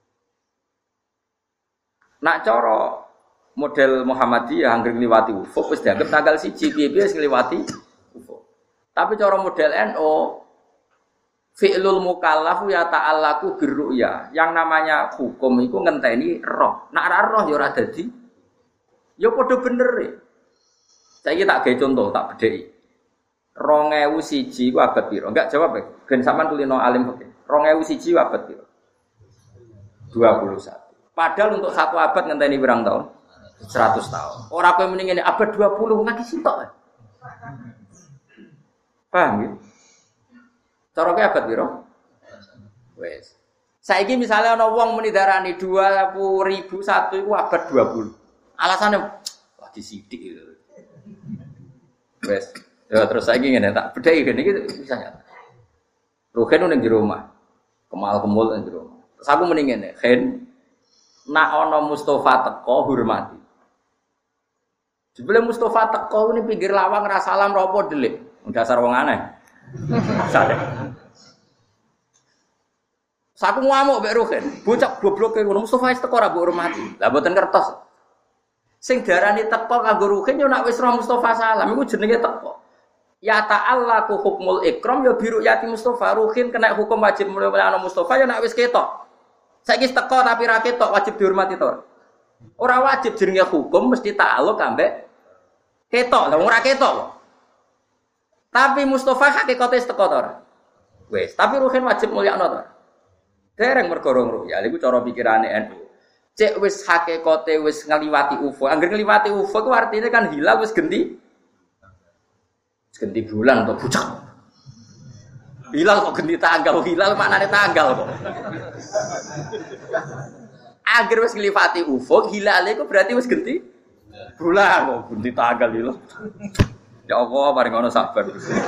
Nak cara model Muhammadiyah angger ngliwati ufuk wis dianggap tanggal siji piye-piye wis ngliwati ufuk. Tapi cara model N U fi'lul mukallaf ya ta'allaku birru'ya. Yang namanya hukum iku ngenteni roh. Nek ora roh ya ora dadi. Ya padha bener e. Saiki tak gawe contoh, tak bedheki. dua ribu satu ku abad piro? Enggak jawab ya. Ben sampean tulino alim oke. dua ribu satu abad piro? dua puluh satu. Padahal untuk satu abad ngenteni pirang tahun? seratus tahun. Ora kowe muni ngene abad dua puluh lagi sitok. Paham ya? Cara kowe abad piro? Wes. Saiki misale ana wong muni darani dua ribu satu iku abad dua puluh. Alasane wah disidik itu. Wes. Ya terus saiki ngene tak bedheki ngene iki bisa nyata. Ruhen ning jero omah. Kemal-kemul ning jero omah. Terus aku muni ngene, "Hen, nak ana Mustofa teko hormati." Jebule Mustofa teko ini pinggir lawang ra salam ra apa delik. Dasar wong aneh. Sadek. Saku ngamuk mbek Ruhen. Bocah gobloke ngono Mustofa wis teko ra mbok hormati. Lah mboten kertos. Sing darani teko kanggo Ruhen yo nak wis roh Mustofa salam iku jenenge teko. Ya ta'allaku hukmul ikram ya biru yati Mustofa. Ruhin kena hukum wajib mulia ana Mustofa ya nak wis ketok. Saiki teko tapi ra ketok wajib dihormati to. Ora wajib jenenge hukum mesti ta'alluq ambek ketok. Lah ora ketok. Tapi Mustofa hakikate teko to ora? Wis, tapi Ruhin wajib mulyakno to. Dereng mergo rong ya iku cara pikirane N U. Cek wis hakikate wis ngliwati ufuk. Angger ngliwati ufuk ku artine kan hilal wis genti. Ganti bulan atau pucak. Hilal kok ganti tanggal, hilal maknane tanggal kok. Agar wis nglifati ufuk, hilal iku berarti wis ganti bulan kok ganti tanggal hilal. Ya Allah, paring ono sabar.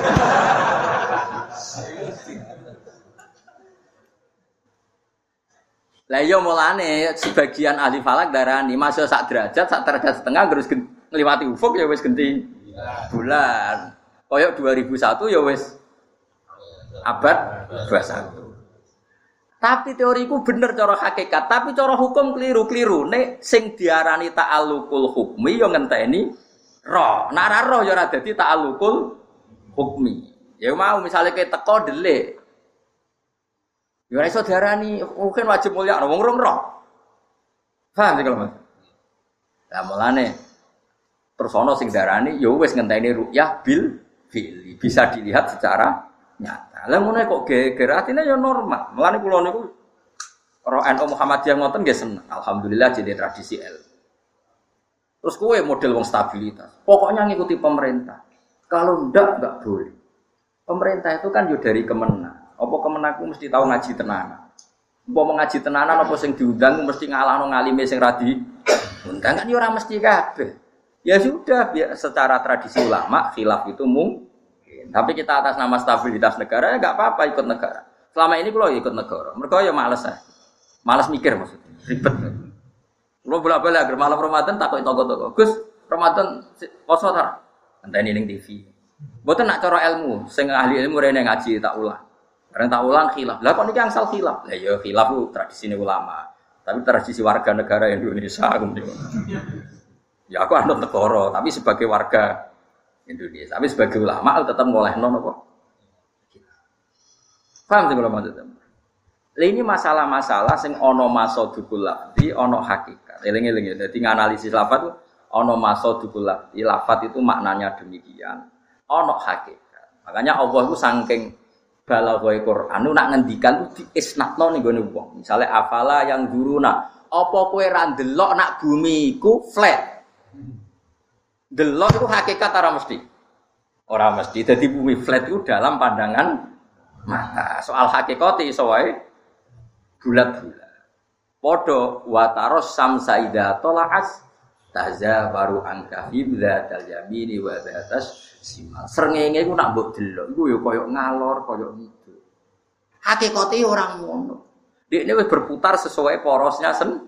Lah iya mulane sebagian ahli falak darani masuk sak derajat, sak derajat setengah terus ngliwati ufuk ya wis ganti bulan. Koyok dua ribu satu ya wis abad dua puluh satu. Tapi teoriku bener cara hakikat, tapi cara hukum keliru-keliru. Nek sing diarani ta'alluqul hukmi ya ngenteni roh. Nek ora roh ya ora dadi ta'alluqul hukmi. Ya mau misale kowe teko delik. Ya ora iso diarani mungkin wajib mulya wong rong roh. Paham iki lho Mas. Lah mulane terus ana sing diarani ya wis ngenteni ru'yah bil fil. Bisa dilihat secara nyata. Lah ngono kok geger atine ya normal. Mulane kula niku roh N U Muhammadiyah ngoten nggih seneng. Alhamdulillah jadi tradisi ilmu. Terus kowe model wong stabilitas. Pokoknya ngikuti pemerintah. Kalau ndak enggak boleh. Pemerintah itu kan yo dari Kemenak. Apa Kemenakku mesti tahu ngaji tenanan. Apa mau ngaji tenanan apa sing diundang mesti ngalahno ngalime sing radi. Undang kan yo ora mesti kabeh. Ya sudah, biar secara tradisi ulama khilaf itu mungkin. Tapi kita atas nama stabilitas negara ya enggak apa-apa ikut negara. Selama ini kalau ikut negara, mereka ya males ya. Males mikir maksudnya, ribet. Kalau bola-bola agar malam Ramadan takut toko-toko. Gus, Ramadan poso ta? Enteni ning T V. Mboten nak cara ilmu, sing ahli ilmu rene ngaji tak ulang. Karena tak ulang khilaf. Lah kok niki angsal khilaf? Lah ya khilaf ku tradisine ulama. Tapi tradisi warga negara Indonesia kemudian. Ya aku anut negara, tapi sebagai warga Indonesia. Tapi sebagai ulama tetap ngolehno napa? Paham sing kula maksud. Lah ini masalah-masalah sing ana masodukul lafzi, ana hakikat. Eling-eling ya. Dadi nganalisis lafaz itu ana masodukul lafzi. Lafaz itu maknanya demikian. Ana hakikat. Makanya Allah itu saking balaghoi Quran nu nak ngendikan itu diisnatno ning gone wong. Misale afala yang duruna, apa kowe ra ndelok nak bumi iku flat. Delok itu hakikat ora mesti. Ora mesti. Dadi bumi flat itu dalam pandangan mata. Soal hakikat iso wae bulat-bulat. Padha wa taros samsa idza tala'as tazawaru an kahib dzatal yamini wa dzatas simal. Srengenge iku nak mbok delok iku ya koyo ngalor, koyo gitu. Hakikate ora ngono. Dekne wis berputar sesuai porosnya sen.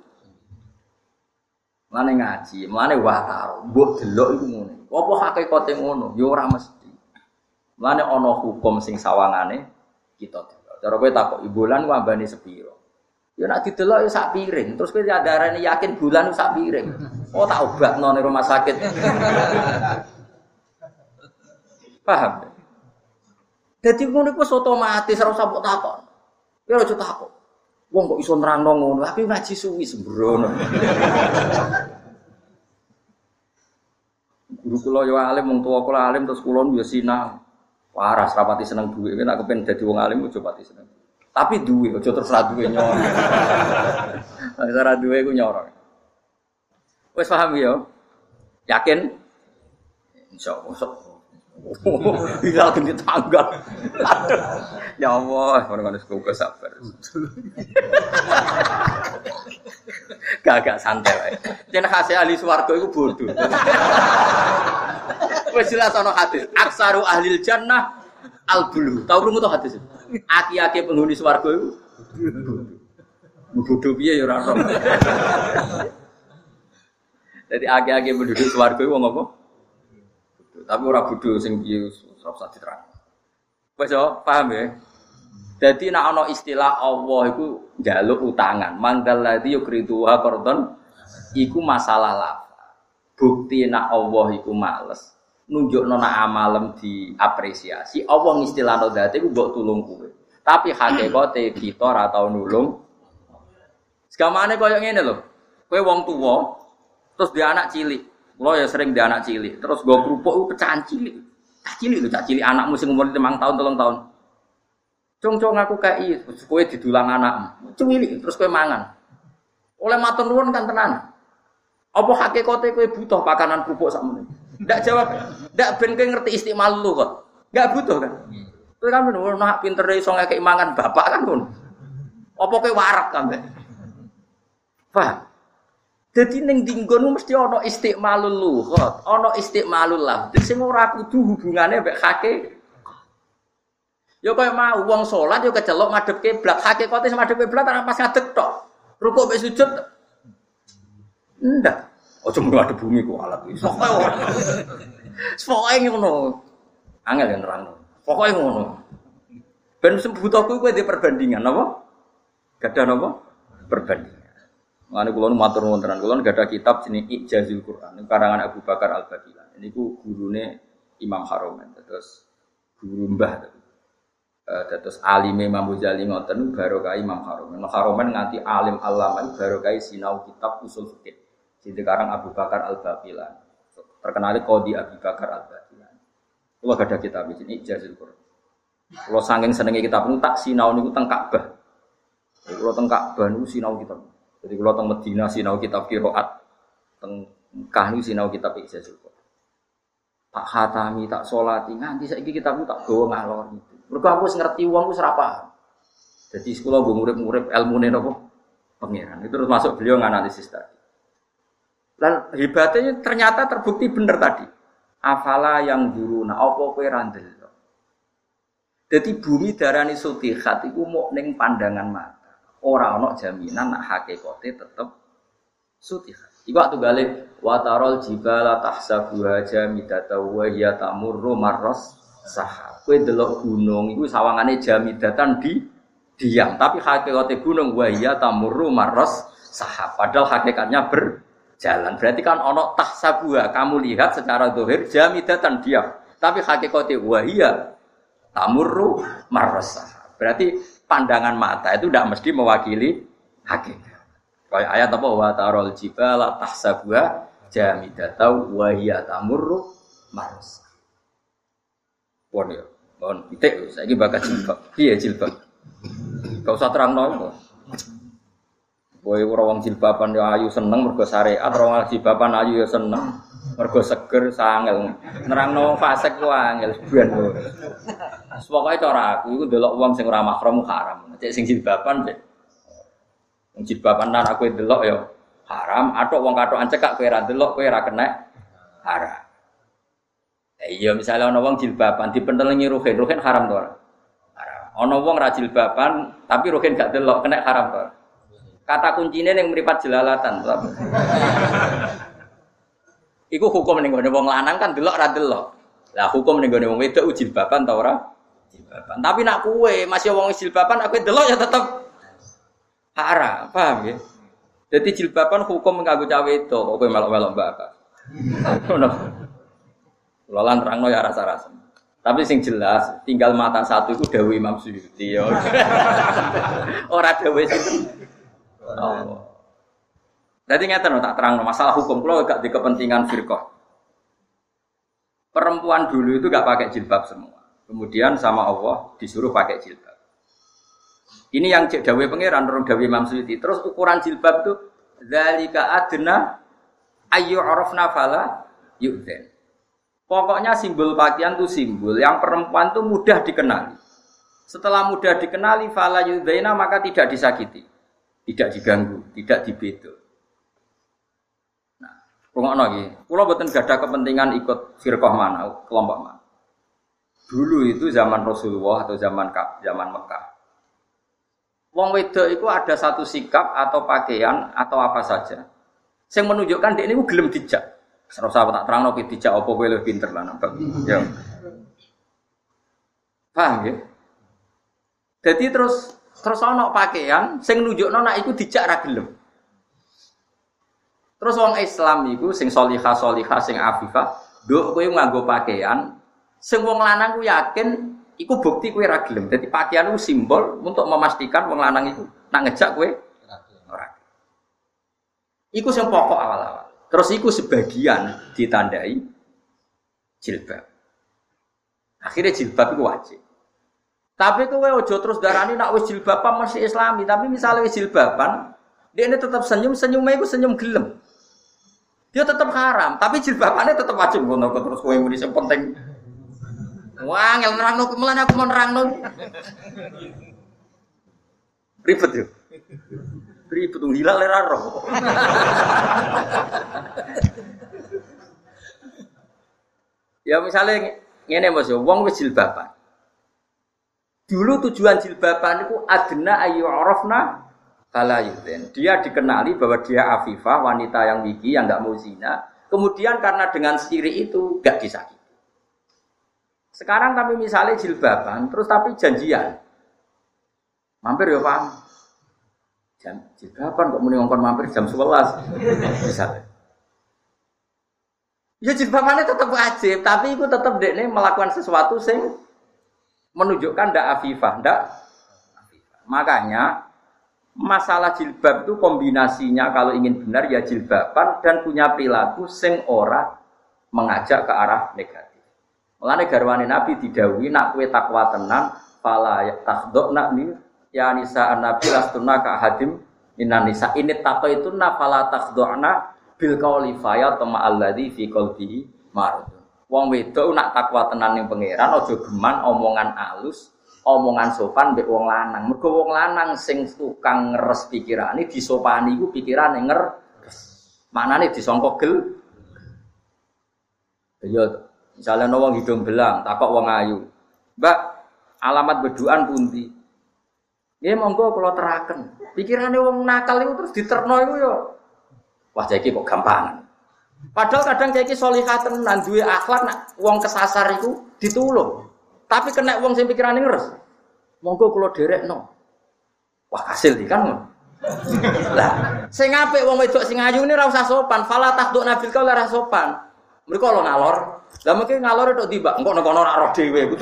Mane ngaji, mane wataro, mbok delok iku ngono. Apa hakikate ngono? Ya ora mesti. Mane ana hukum sing sawangane kita delok. Cara kowe takok bulan ku ambane sepiro? Ya nek didelok ya sak piring. Terus kowe darane yakin bulan ku sak piring. Oh tak obatno ning rumah sakit. Paham? Dadi ngono iku otomatis ora usah mbok takok. Ya aja takok. Wong kok iso nerangno ngono, tapi ngaji suwi sembrono. Guru kula yo alim, wong tuwa kula alim terus kula yo sinau. Waras rapati seneng duwe, nek kepen dadi wong alim aja pati seneng. Tapi duwe aja terus ra duwe nyor. Nek ora duwe ku nyor. Wis paham yo? Yakin? Insyaallah. Hilal ganti tanggal. Ya Allah, orang-orang sekolah sabar. Gak-gak santai wae. Yen khase ahli swarga iku bodoh. Wis jelas ana hadis, aksaru ahlil jannah al-bulu. Tahu krungu to hadis? Aki-aki penghuni swarga iku bodoh piye ya ora ora. Dadi aki-aki penduduk swarga iku wong apa? Tapi ora bodho sing piye ora usah diterang. Wis yo, paham ya? Dadi nek ana istilah Allah iku njaluk utangan, mangdal ladzi yukriduha qardon iku masalah lafaz. Bukti nek Allah iku males, nunjukno nek amalem diapresiasi, Allah ngistilahno zate iku mbok tulung kowe. Tapi hakikate kita ora tau nulung. Segamane koyo ngene lho. Kowe wong tuwa terus dia anak cilik. Lo ya sering di anak cilik, terus gue kerupuk pecahan cilik, cah cilik lu cah cilik anakmu sing umur lima tahun telung tahun, cung-cung aku kai, terus kue didulang anakmu, cilik, terus kue mangan, oleh matur nuwun kan tenan, apa hakikate kue butuh pakanan kerupuk sakmene? Ndak jawab, ndak ben kowe ngerti istimal lu kok, nggak butuh kan? Kowe kan ngono nak pintere iso ngekeki mangan bapak kan ngono. Apa kowe warak kabeh? Paham? Dadi ning dinggon mesti ana istiqmalul lughat, ana istiqmalul lafz. Sing ora kudu hubungane mbek hake. Ya kaya mau wong salat ya kecelok madhep kiblat, hakikate madhep kiblat ora pas ngadeg tok. Rukuk mek sujud. Ndak. Aja mung ada bumi ku alat iki. Pokoke ora. Pokoke ngono. Angel yen nerangno. Pokoke ngono. Ben sembutoku kowe di perbandingan apa? Gadah napa? Perbandingan. Mane kula matur nuwun tenan. Kula gadah kitab jenenge Ijazul Quran karangan Abu Bakar Al-Baqilan. Niku gurune Imam Haromen. Terus guru Mbah Uh, terus alime Imam Ghazali ngoten barokah Imam Haromen. Imam Haromen nganti alim alama barokah sinau kitab usul fikih. Sing dikarang Abu Bakar Al-Baqilan. Terkenal Qadi Abu Bakar Al-Baqilan. Kula gadah kitab iki Ijazul Quran. Kula saking senenge kitab niku tak sinau niku teng Ka'bah. Kula teng Ka'bah niku sinau kitab. Jadi kula teng Madinah sinau kitab qiraat. Teng Mekah niku sinau kitab Ijazul Quran. Tak khatami, tak salati nganti saiki kitab niku tak gawa ngalor gitu. Mergo aku wis ngerti wong wis ora paham. Dadi sekolah nggo murid-murid ilmune napa? Pangeran. Itu terus masuk beliau nganalisis tadi. Lan hebatnya ternyata terbukti bener tadi. Afala yang duruna apa kowe ra ndelok. Dadi bumi darani sutihat iku mok ning pandangan mata. Ora ana jaminan nek hakikate tetep sutihat. Iku waktu gale watarol jibala tahsabuha jamidata wa hiya tamurru marras sahab. Kowe delok gunung iku sawangane jamidatan di diam, tapi hakikate gunung wa hiya tamurru marras sahab. Padahal hakikatnya berjalan. Berarti kan ana tahsabuha, kamu lihat secara zahir jamidatan diam, tapi hakikate wa hiya tamurru marras sahab. Berarti pandangan mata itu tidak mesti mewakili hakikat. Kayak ayat apa wa tarol jibala tahsabuha jamidatan wa hiya tamurru marras. Pon ya, pon pitik saiki bakat jilbab. Piye jilbab? Gak usah terangno. Kowe ora wong jilbaban ya ayu seneng mergo syariat, ora wong jilbaban ayu ya seneng mergo seger sangel. Nerangno wong fasik ku angel ben. Pokoke cara aku iku ndelok wong sing ora mahram haram. Cek sing jilbaban cek. Wong jilbaban lan aku ndelok ya haram, atok wong katokan cekak kowe ra ndelok kowe ra kena haram. Eh, iya misalnya ana wong jilbaban dipentelengi ruhin, ruhin haram to ora? Haram. Ana wong ra jilbaban tapi ruhin gak delok kena haram to. Kata kuncine ning mripat jelalatan to. Iku hukum ning gone wong lanang kan delok ra delok. Lah hukum ning gone wong wedok jilbaban ta ora? Jilbaban. Tapi nak kowe masih wong jilbaban aku delok ya tetep haram, paham nggih? Dadi jilbaban hukum kanggo cah wedok kok kowe melok-melok mbak. Ngono. Lolan terangno ya rasa-rasa. Tapi sing jelas tinggal mata satu itu dawuh Imam Suyuti ya. Ora dawuh sinten. Oh. Dadi ngeten tak terangno masalah hukum kula gak di kepentingan firqah. Perempuan dulu itu gak pakai jilbab semua. Kemudian sama Allah disuruh pakai jilbab. Ini yang cek dawuh pangeran nurung dawuh Imam Suyuti. Terus ukuran jilbab itu zalika adna ayu arafna fala yu'dzan. Pokoknya simbol pakaian itu simbol yang perempuan itu mudah dikenali. Setelah mudah dikenali fala yudzaina maka tidak disakiti, tidak diganggu, tidak dibedo. Nah, rungokno iki. Kula mboten gadah kepentingan ikut firqah mana, kelompok mana. Dulu itu zaman Rasulullah atau zaman zaman Mekah. Wong wedok itu ada satu sikap atau pakaian atau apa saja yang menunjukkan dia ini gelem dijak. Serasa tak terang nopo dijak apa kowe luwih pinter lah nampak. Ya. Paham ya? Jadi terus terus ana pakaian sing nunjukno nek iku dijak ra gelem. Terus wong Islam iku sing sholihah-sholihah sing afifah, nduk kowe nganggo pakaian sing wong lanang ku yakin iku bukti kowe ra gelem. Dadi pakaian ku simbol untuk memastikan wong lanang iku nak ngejak kowe ora. Iku sing pokok awal-awal. Terus iku sebagian ditandai jilbab. Akhirnya jilbab itu wajib. Tapi kowe aja terus darani nak wis jilbaban masih Islami, tapi misalnya wis jilbaban, dia ini tetap senyum, senyumnya itu senyum gelem. Dia tetap haram, tapi jilbabannya tetap wajib ngono terus kowe muni sing penting. Wah, ngel nerangno mulane aku mau nerangno. Ribet yo. Ribet tuh hilal ora roh. Ya misalnya ngene Mas yo, wong wis jilbaban. Dulu tujuan jilbaban itu adna ayu arafna kalayuden. Dia dikenali bahwa dia afifah, wanita yang wiki, yang enggak mau zina. Kemudian karena dengan siri itu enggak disakiti. Sekarang tapi misalnya jilbaban, terus tapi janjian. Mampir ya Pak. Jam jilbaban kok muni ngongkon mampir jam sebelas. Misalnya. Ya jilbabannya tetap wajib, tapi itu tetap dekne melakukan sesuatu sing menunjukkan ndak afifah, ndak afifah. Makanya masalah jilbab itu kombinasinya kalau ingin benar ya jilbaban dan punya perilaku sing ora mengajak ke arah negatif. Mulane garwane Nabi didhawuhi nak kowe takwa tenan fala takhdhna ni ya nisa an-nabi lastunna ka hadim minan nisa ini takwa itu na fala takhdhna bil qauli fa ya tama alladzi fi qalbihi marad. Wong wedok nak takwa tenan ning pangeran aja geman omongan alus, omongan sopan mbek wong lanang. Mergo wong lanang sing tukang ngeres pikirane disopani iku pikirane ngeres. Manane disangka gel. Ya misalnya no wong hidung belang, takok wong ayu. Mbak, alamat beduan pundi? Nggih monggo kula teraken. Pikirane wong nakal iku terus diterno iku ya. Wah, saiki kok gampang. Padahal kadang saiki salihah tenan duwe akhlak nak wong kesasar iku ditulung. Tapi kena wong sing pikirane ngeres. Monggo kula derekno. Wah, kasil iki kan. Lah, sing apik wong wedok sing ayu ini ora usah sopan, fala takduk nabil kau ora sopan. Mereka lo ngalor. Lah mungkin ngalor itu tiba, engko nek ana ora roh dhewe kudu.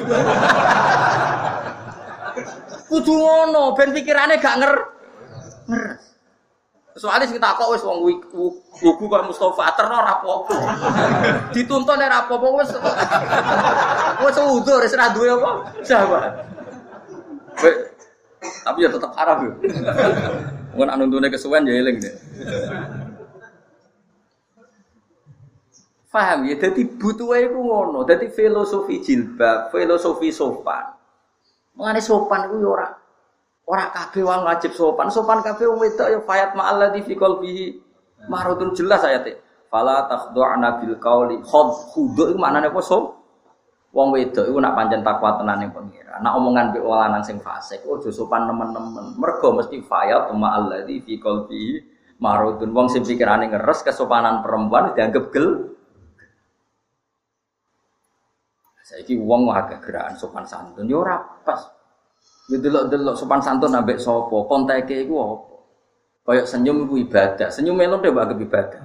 Kudu ngono, ben pikirane gak nger. Ngeres. Soale sing takok wis wong wuku kok Mustofa terno ora apa-apa. Dituntun ora apa-apa wis. Wis udzur wis ora duwe apa. Sahabat. Tapi ya tetep haram yo. Wong nek nuntune kesuwen ya eling deh. Paham ya, jadi butuh iku ngono, jadi filosofi jilbab, filosofi sopan. Mengenai sopan itu ora, ora kabeh wong wajib sopan, sopan kabeh wong wedok ya fayat ma'alladzi fi qalbihi marudun jelas ayate. Fala takhdu'na bil qauli khud khudu iku maknane apa sop? Wong wedok iku nak pancen takwa tenan ning pengira. Nak omongan mbek wong lanang sing fasik, ojo sopan nemen-nemen. Mergo mesti fayat ma'alladzi fi qalbihi marudun. Wong sing pikirane ngeres kesopanan perempuan dianggap gel. Saiki wong agak gerakan sopan santun yo ora pas. Yo delok-delok sopan santun ambek sapa? Konteke iku apa? Kayak senyum iku ibadah. Senyum melon dhewe anggap ibadah.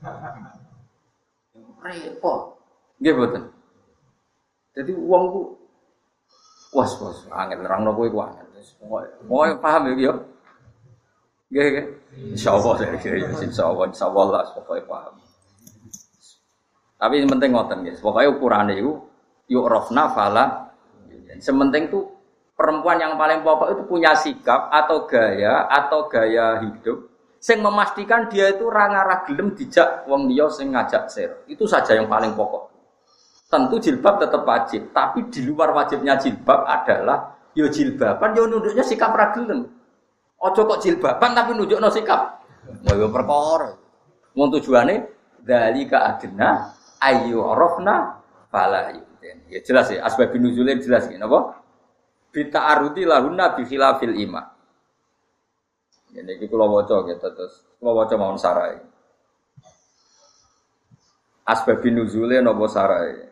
Repot. Nggih mboten. Jadi wong ku was-was angel nerangno kowe iku angel. Pokoke paham ya yo. Nggih nggih. Insyaallah insyaallah insyaallah pokoke paham. Tapi yang penting ngoten nggih. Pokoke ukurane iku yuk rofna fala. Sementing tuh perempuan yang paling pokok itu punya sikap atau gaya atau gaya hidup sing memastikan dia itu rangarah gelem dijak wong liya sing ngajak sir. Itu saja yang paling pokok. Tentu jilbab tetap wajib, tapi di luar wajibnya jilbab adalah yo jilbaban yo nunduknya sikap ra gelem. Aja kok jilbaban tapi nunjukno sikap. Yo perkara. Wong tujuane dzalika adna ayu rofna fala. Ya jelas ya, asbab nuzulnya jelas ya, napa? Bita'arudi lahunna bi khilafil ima. Ini iki kula waca gitu terus. Kula waca mawon sarai. Asbab nuzulnya napa sarai?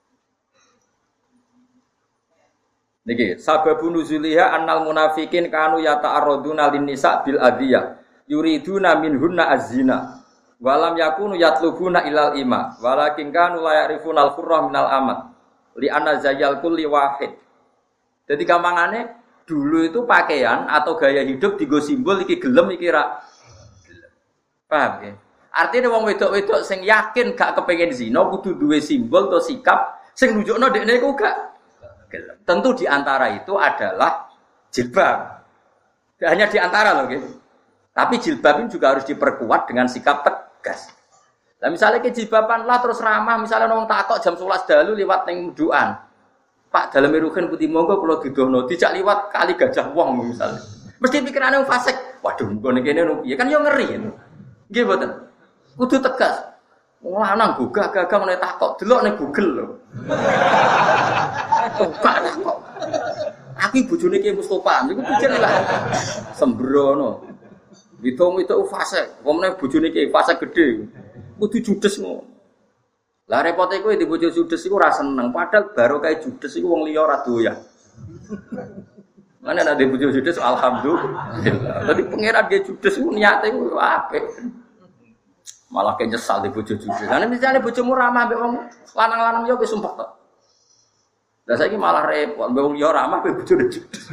Niki, sababun nuzuliha annal munafiqin kanu yata'arraduna lin nisa bil adiyah. Yuriduna minhunna az-zina. Walam yakunu yatlubuna ilal ima. Walakin kanu la ya'rifuna al-qurra minal amat. Li anna zayyal kulli wahid. Jadi gampangane dulu itu pakaian atau gaya hidup digo simbol iki gelem iki ra gelem. Paham ya? Artinya wong wedok-wedok sing yakin gak kepengin zina kudu duwe simbol atau sikap sing nunjukno dekne iku gak gelem. Tentu di antara itu adalah jilbab. Tidak hanya di antara loh gitu. Tapi jilbab ini juga harus diperkuat dengan sikap tegas. Nah misalnya ke jilbaban lah terus ramah, misalnya orang takok jam sebelas dalu lewat ning duaan. Pak dalam ruhin putih monggo kalau didono dijak liwat kali gajah wong misalnya. Mesti pikirannya fasik. Waduh, gue nih nupi. Ya kan yo ngeri. Nggih mboten. Kudu tegas. Wong lanang gagah-gagah meneh takok delok ning Google lho. Gak takok. Aku bojone Ki Mustofa, niku pikir lah. Sembrono. Hitung itu fasik. Wong meneh bojone Ki fasik gedhe. Kudu judes ngono. Lah repote kowe di bojo judes iku ora seneng, padahal baru kae judes iku wong liya ora doyan. Mana ada di bojo judes alhamdulillah. Dadi pangeran ge judes iku niate iku apik. Malah ke nyesal di bojo judes. Lah misale bojomu ramah mbek wong lanang-lanang yo wis sumpek to. Lah saiki malah repot, mbek wong liya ramah mbek bojo judes.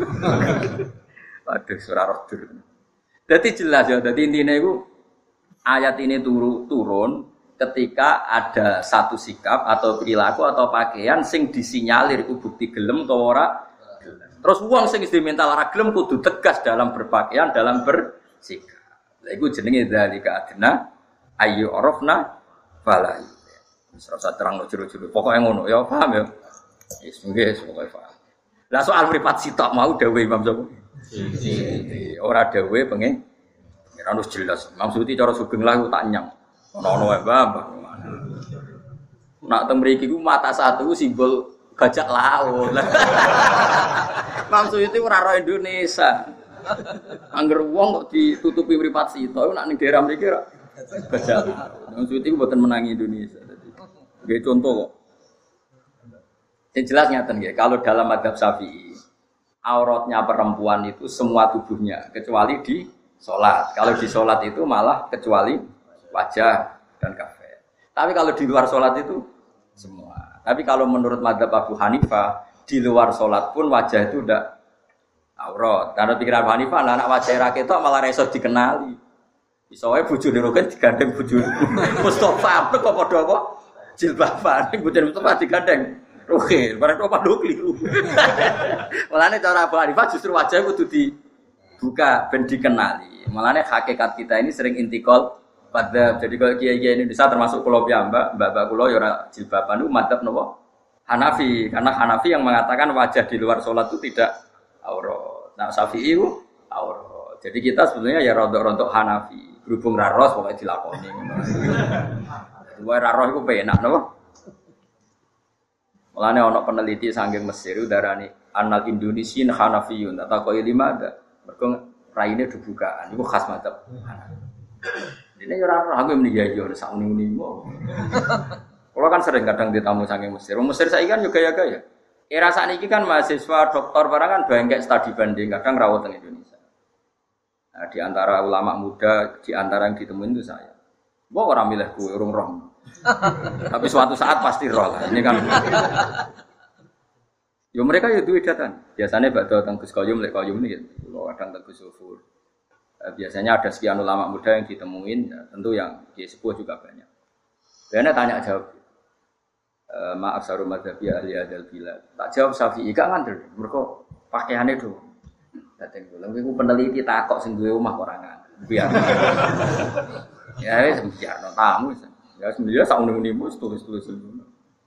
Waduh, ora roh dur. Dadi jelas ya, dadi intine iku ayat ini turu, turun ketika ada satu sikap atau perilaku atau pakaian sing disinyalir iku bukti gelem utawa ora gelem. Terus wong sing wis dimental ora gelem kudu tegas dalam berpakaian, dalam bersikap. Lha iku jenenge dzalika adna ayu arafna fala. Wis ora terangno jero-jero. Pokoke ngono ya, paham ya? Wis nggih, pokoke paham. Lah soal mripat sitok mau dawuh Imam Syafi'i. Ora dawuh pengen ora wis jelas. Maksudnya cara sugeng lah tak nyang. Ono wae Mbah. Nak teng mriki ku mata satu simbol gajah laut. Maksud itu ora ro Indonesia. Angger wong kok ditutupi mripat sito nak ning daerah mriki ora gajah laut. Maksud itu mboten menangi Indonesia tadi. Nggih contoh kok. Yang jelas ngaten nggih, kalau dalam mazhab Syafi'i auratnya perempuan itu semua tubuhnya kecuali di salat. Kalau di salat itu malah kecuali wajah dan kafir. Tapi kalau di luar sholat itu semua. Tapi kalau menurut mazhab Abu Hanifah di luar sholat pun wajah itu udah aurat. Karena pikiran Abu Hanifah anak wajah rakyat malah reso dikenali. Misalnya bujur dirokan digandeng bujur Mustafa apa kok padha apa jilbaban bujur Mustafa digandeng. Oke, barang apa do keliru. Mulane cara Abu Hanifah justru wajah kudu dibuka ben dikenali. Mulane hakikat kita ini sering intikal pada jadi kalau kiai-kiai Indonesia termasuk pulau piyambak, mbak-mbak pulau yora jilbaban itu madzhab nopo Hanafi, karena Hanafi yang mengatakan wajah di luar sholat itu tidak aurat. Nah Syafi'i itu aurat. Jadi kita sebenarnya ya rontok-rontok Hanafi, berhubung raros pokoknya dilakoni. Dua raros itu penak nopo. Mulane ono peneliti sanggeng Mesir udarani anal Indonesian Hanafiyun atau kau lima ada, mereka raine dibukaan, itu khas madzhab Hanafi. Ini ora aku muni ya yo sak muni-muni. Kalau kan sering kadang ditamu saking Mesir. Mesir saiki kan yo gaya-gaya. Era sakniki kan mahasiswa doktor barang kan bangkek studi banding kadang rawat teng Indonesia. Nah, di antara ulama muda, di antara yang ditemuin itu saya. Wah orang milih kuwe urung roh. Tapi suatu saat pasti roh lah. Ini kan yo mereka yo duwe datan. Biasanya badhe teng Gus Koyum lek Koyum niki. Kalau kadang teng Gus Sufur. Biasanya ada sekian ulama muda yang ditemuin, ya, tentu yang di sepuh juga banyak. Karena tanya jawab, e, maaf sarum madzhabi ahli adal bila, tak jawab Syafi'i gak ngandel, mereka pakaiannya itu. Dateng dulu, aku peneliti takok sing duwe omah orangan, biar. Ya wis biar no tamu, ya sebenarnya sak uni-unimu tulis-tulis dulu.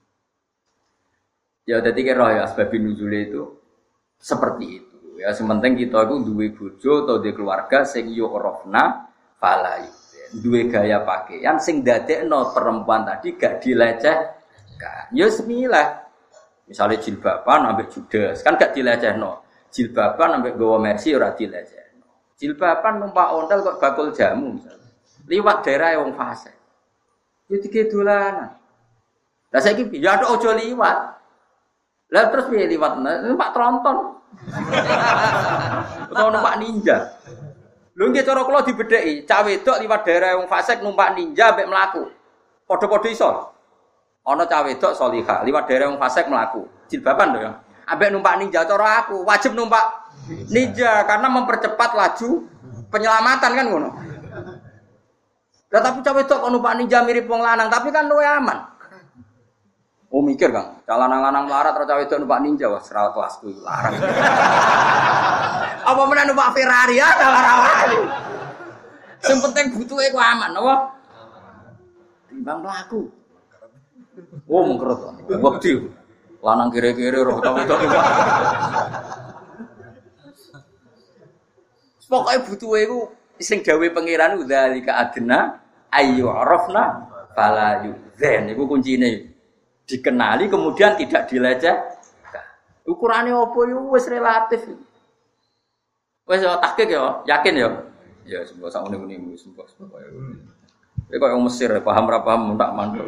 Ya dadi kira ya asbabun nuzul itu seperti itu. Ya sementing kita itu duwe bojo atau duwe keluarga sing yo orofna falai. Duwe gaya pakaian sing dadekno perempuan tadi gak dilecehkan. Ya semilah. Misalnya jilbaban ambek judes kan gak dilecehno. Jilbaban ambek gawa mercy ora dilecehno. Jilbaban numpak ontel kok bakul jamu misalnya. Liwat daerah wong fase. Yo dike dolanan. Lah saiki ya ojo liwat. Lah terus piye liwat numpak tronton. Utawa numpak ninja. Lho nggih cara kula dibedheki, cah wedok liwat daerah wong fasik numpak ninja mbek mlaku. Padha-padha iso. Ana cah wedok salihah liwat daerah wong fasik mlaku. Jilbaban lho ya. Ambek numpak ninja cara aku wajib numpak ninja karena mempercepat laju penyelamatan kan ngono. Lah tapi cah wedok kok numpak ninja mirip wong lanang tapi kan luwih aman. Oh mikir Kang, lanang-lanang melarat terus cawe itu numpak ninja wah serawat kelasku larang. Apa meneh numpak Ferrari ya larang. Sing penting butuhe ku aman apa? Timbang mlaku. Oh mengkerut. Wedi. Lanang kiri-kiri roh wedok iki. Pokoke butuhe iku sing dawuhe pangeran udzalika adna ayu arafna fala yuzen iku kuncine. Dikenali kemudian tidak dilecehkan. Ukurane apa yo wis relatif. Wis yo tahqiq yo, yakin yo. Ya sembo sak ngene-ngene wis sembo pokoke. Kowe kok wong Mesir paham ra paham tak mandek.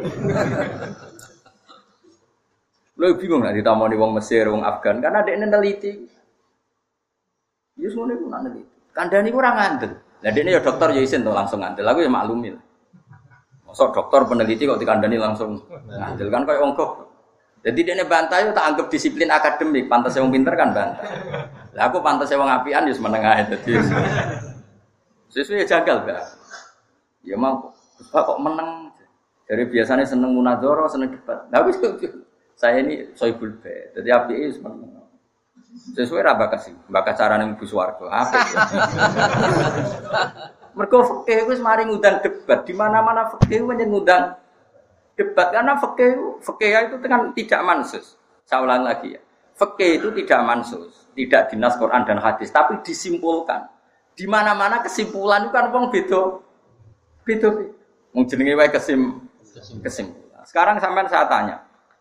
Lho bingung nek ditamoni wong Mesir, wong Afgan karena dekne neliti. Ya ngono iku nak neliti. Kandhane iku ora ngandel. Lah dekne ya dokter ya isin to langsung ngandel. Aku ya maklumi. Mosok dokter peneliti kok dikandani langsung ngandel kan koyo wong kok. Jadi dekne bantah yo tak anggap disiplin akademik, pantes wong pinter kan bantah. Lah aku pantes wong apian ya meneng ae dadi. Sesuai jagal, Mbak. Ya mau Pak kok menang. Dari biasanya seneng munadzara, seneng debat. Lah wis saya ini soibul bait. Dadi apike seneng. Sesuai ra bakas iki. Bakas carane mlebu swarga. Apik. Mergo fikih wis mari ngundang debat. Di mana-mana fikih menyen ngundang debat karena fikih fikih itu kan tidak mansus. Saya ulang lagi ya. Fikih itu tidak mansus, tidak dinas Quran dan hadis, tapi disimpulkan. Di mana-mana kesimpulan itu kan wong beda. Beda. Wong jenenge wae kesim kesimpulan. Sekarang sampean saya tanya.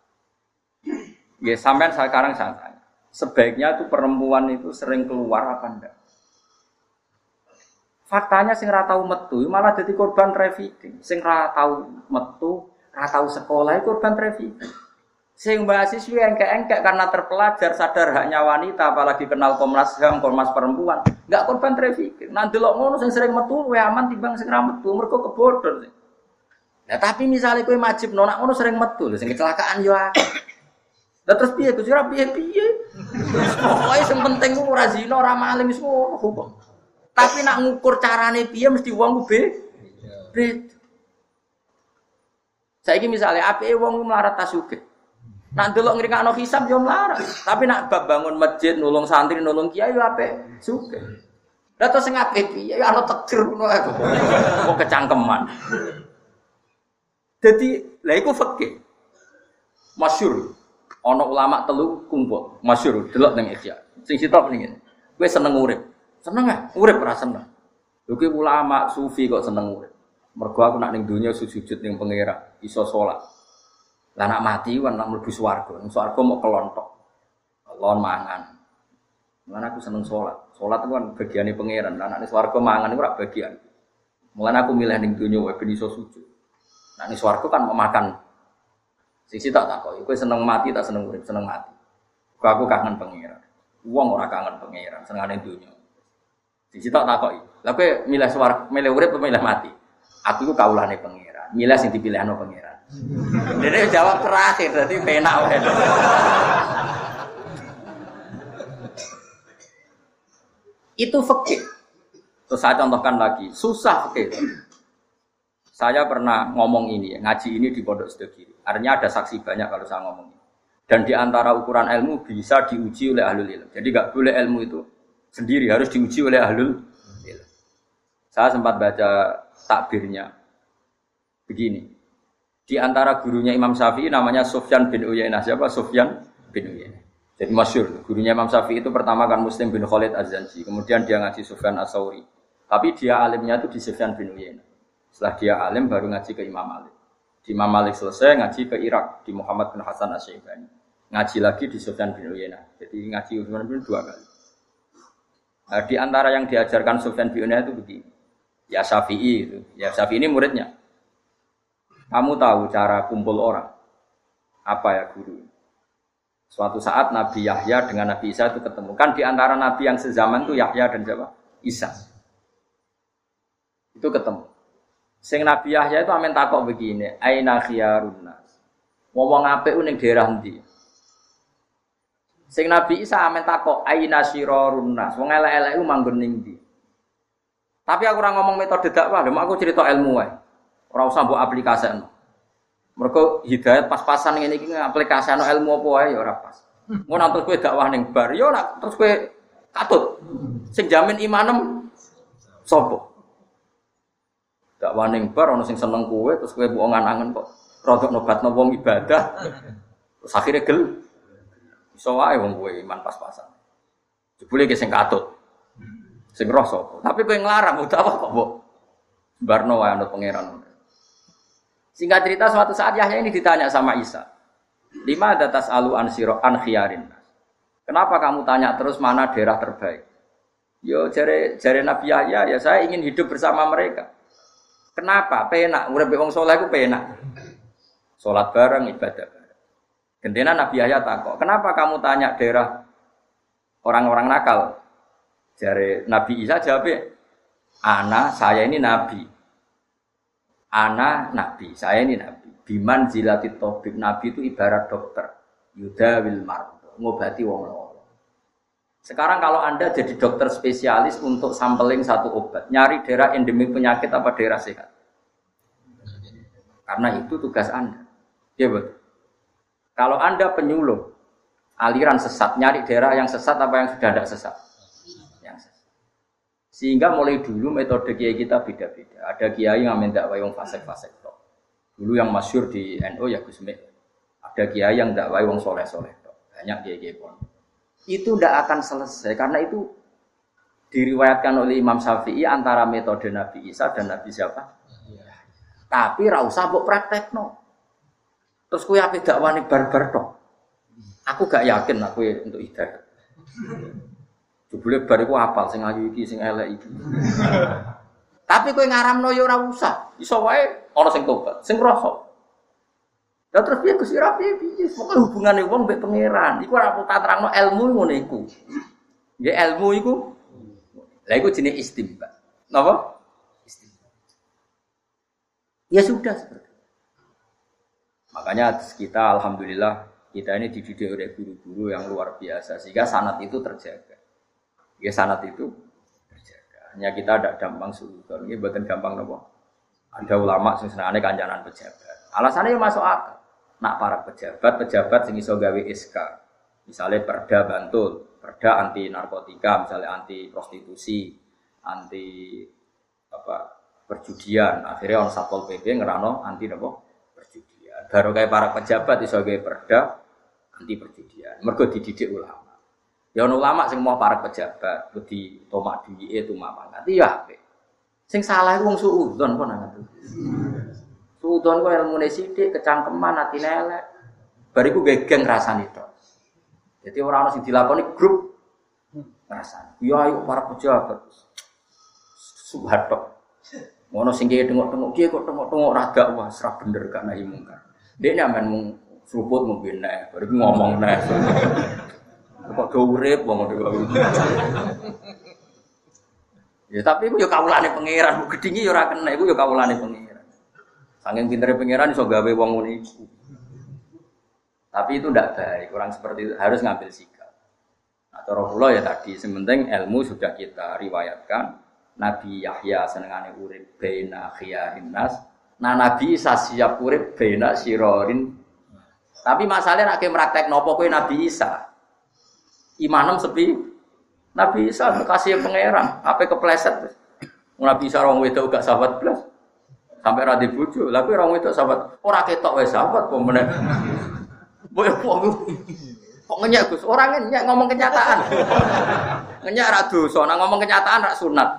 Ya sampean sekarang saya tanya. Sebaiknya itu perempuan itu sering keluar apa enggak? Faktanya sing ra tau metu malah dadi korban trafficking. Sing ra tau metu, ra tau sekolah korban trafficking. Sing mahasiswa engkek-engkek karena terpelajar sadar haknya wanita apalagi kenal Komnas H A M, Komnas Perempuan, enggak korban trafficking. Nah delok ngono sing sering metu luwih aman timbang sing ra metu mergo kebodhon. Nah tapi misalnya kowe majibno nak ngono sering metu lho sing kecelakaan yo akeh. Lah terus piye Gus ora piye-piye. Pokoke sing penting ku ora zina, ora maling wis ngono hukum. Tapi nak ngukur carane piye mesti wong ku be. Bet. Saiki misale apike wong melarat tasugih. Nak delok ngrikakno hisab yo melarat. Tapi nak bab bangun masjid, nulung santri, nulung kiai yo apik sugih. Lah terus sing apik piye yo ana takdir ngono ae. Kok kecangkeman. Jadi, lha iku fikih. Masyhur. Ana ulama telu kumpul, masyhur delok ning Ihya. Sing sitok ning ngene. Kowe seneng urip. Seneng ah, urip ora seneng. Lho ki ulama sufi kok seneng urip. Mergo aku nak ning donya sujud ning pangeran, iso salat. Lah nak mati kan nak mlebu swarga. Ning swarga mau kelontok. Kelon mangan. Mulane aku seneng salat. Salat itu kan bagiane pangeran. Lah nak ning swarga mangan iku ora bagian. Mulane aku milih ning donya wae ben iso sujud. Nak ning swarga kan mau makan. Sisi tak takoki, kowe seneng mati tak seneng urip, seneng mati. Kok aku kangen pangeran. Wong ora kangen pangeran, senengane donya. Sisi tak takoki. Lah kowe milih swarga, milih urip apa milih mati? Aku iku kaulane pangeran. Milih sing dipilihno pangeran. Dene jawab terakhir, dadi penak wae. Itu fikih. Terus saya contohkan lagi, susah fikih. Saya pernah ngomong ini, ya, ngaji ini di Pondok Sedekiri. Artinya ada saksi banyak kalau saya ngomong ini. Dan di antara ukuran ilmu bisa diuji oleh ahlul ilm. Jadi nggak boleh ilmu itu sendiri, harus diuji oleh ahlul ilm. Saya sempat baca takbirnya. Begini. Di antara gurunya Imam Syafi'i namanya Sufyan bin Uyainah. Siapa? Sufyan bin Uyainah. Jadi masyhur. Gurunya Imam Syafi'i itu pertama kan Muslim bin Khalid Az-Zanji. Kemudian dia ngaji Sufyan As-Sauri. Tapi dia alimnya itu di Sufyan bin Uyainah. Setelah dia alim baru ngaji ke Imam Malik. Di Imam Malik selesai ngaji ke Irak di Muhammad bin Hasan Asy-Syaibani. Ngaji lagi di Sufyan bin Uyainah. Jadi ngaji Sufyan bin dua kali. Nah, di antara yang diajarkan Sufyan bin Uyainah itu begini. Ya Syafi'i itu. Ya Syafi'i ini muridnya. Kamu tahu cara kumpul orang? Apa ya guru? Suatu saat Nabi Yahya dengan Nabi Isa itu ketemu. Kan di antara Nabi yang sezaman itu Yahya dan siapa? Isa. Itu ketemu. Sing Nabi Yahya itu amen takok begini, aina khiyarun nas. Wong apik ning daerah ndi? Sing Nabi Isa amen takok aina syirarun nas. Wong elek-elek iku manggon ning ndi? Tapi aku ora ngomong metode dakwah, lho aku cerita ilmu wae. Ora usah mbok aplikasekno. Mergo hidayat pas-pasan ngene iki aplikasekno ilmu apa wae ya ora pas. Ngono terus kowe dakwah ning bar, ya ora terus kowe katut. Sing jamin imanem sapa? Dakwah ning bar ana sing seneng kowe terus kowe mbok ngangen kok rodok nobatno wong ibadah. Terus akhire gel Iso wae wong kowe iman pas-pasan. Jebule ki sing katut. Sing roh sapa? Tapi kowe nglarang utawa kok mbok barno wae anut pangeran. Singkat cerita suatu saat Yahya ini ditanya sama Isa. Lima ada tas'alu an sira an khiyarin. Kenapa kamu tanya terus mana daerah terbaik? Yo jare jare Nabi Yahya, ya saya ingin hidup bersama mereka. Kenapa? Penak, urip wong saleh ku penak. Salat bareng, ibadah bareng. Gendena Nabi Yahya takok, "Kenapa kamu tanya daerah orang-orang nakal?" Jare Nabi Isa jawab, "Ana, saya ini nabi. Ana nabi, saya ini nabi. Biman zilatit tabib, nabi itu ibarat dokter. Yudawil mardo, ngobati wong loro. Sekarang kalau Anda jadi dokter spesialis untuk sampling satu obat, nyari daerah endemik penyakit apa daerah sehat? Karena itu tugas Anda. Ya betul. Kalau Anda penyuluh aliran sesat, nyari daerah yang sesat apa yang sudah tidak sesat? Sehingga mulai dulu metode kiai kita beda-beda. Ada kiai yang mendakwai wong fasik-fasik tok. Dulu yang masyhur di N U ya Gus Mek. Ada kiai yang dakwai wong soleh-soleh tok. Banyak kiai-kiai pon. Itu tidak akan selesai karena itu diriwayatkan oleh Imam Syafi'i antara metode Nabi Isa dan Nabi siapa? Ya. Tapi ra usah mbok praktekno. Terus kowe ape dakwane barbar tok. Aku gak yakin aku untuk hidayah. Jebule bar iku apal sing ayu iki sing elek iki. Tapi kowe ngaramno ya ora usah. Iso wae ana sing tobat, sing rasa. Lah terus piye Gusti ra piye piye? Pokoke hubungane wong mbek pangeran. Iku ora tak terangno ilmu ngono iku. Nggih ilmu iku. Lah iku jenenge istimba. Napa? Istimba. Ya sudah seperti. Makanya kita alhamdulillah kita ini dididik oleh guru-guru yang luar biasa sehingga sanad itu terjaga. Ya sanad itu terjaga. Hanya kita tidak gampang suudon. Ini bukan gampang nopo. Ada ulama sing senengane kancanan pejabat. Alasannya ya masuk akal. Nak para pejabat, pejabat sing iso gawe S K. Misalnya Perda Bantul, Perda anti narkotika, misalnya anti prostitusi, anti apa perjudian. Akhirnya on Satpol P P ngerano anti nopo perjudian. Baru kayak para pejabat iso gawe Perda anti perjudian. Mergo dididik ulama. Ya ono ulama sing mau para pejabat di tomak duwike tumak pangkat ya apik. Sing salah iku wong suudzon kok nang ngono. Suudzon kok ilmune sithik, kecangkeman atine elek. Bariku gegeng rasane tok. Jadi ora ono sing dilakoni grup rasane. Ya ayo para pejabat. Subhatok. Ngono sing kiye tengok-tengok kiye kok tengok-tengok ra gak wah ora bener gak nahi mungkar. Dekne amen mung seruput mung benek, bariku ngomong neh. Kok do urip wong ngono. Ya tapi iku ya kawulane pangeran, bu gedhingi ya ora kena, iku ya kawulane pangeran. Saking pintere pangeran iso gawe wong ngono iku. Tapi itu ndak baik, orang seperti itu harus ngambil sikap. Nah, cara kula ya tadi, sementing ilmu sudah kita riwayatkan. Nabi Yahya senengane urip baina khiyarin nas. Nah Nabi Isa siap urip baina sirorin. Tapi masalahnya nek praktek nopo kowe Nabi Isa. Imanem sepi, Nabi Isa kasih pangeran, apa kepleset. Nabi Isa orang wedok gak sahabat belas, sampai radhi bojo. Lalu orang wedok sahabat, orang ketok wes sahabat, pemenang. Boleh kok, kok ngenyak Gus? Orang ngenyak ngomong kenyataan, ngenyak radu, soalnya ngomong kenyataan rak sunat.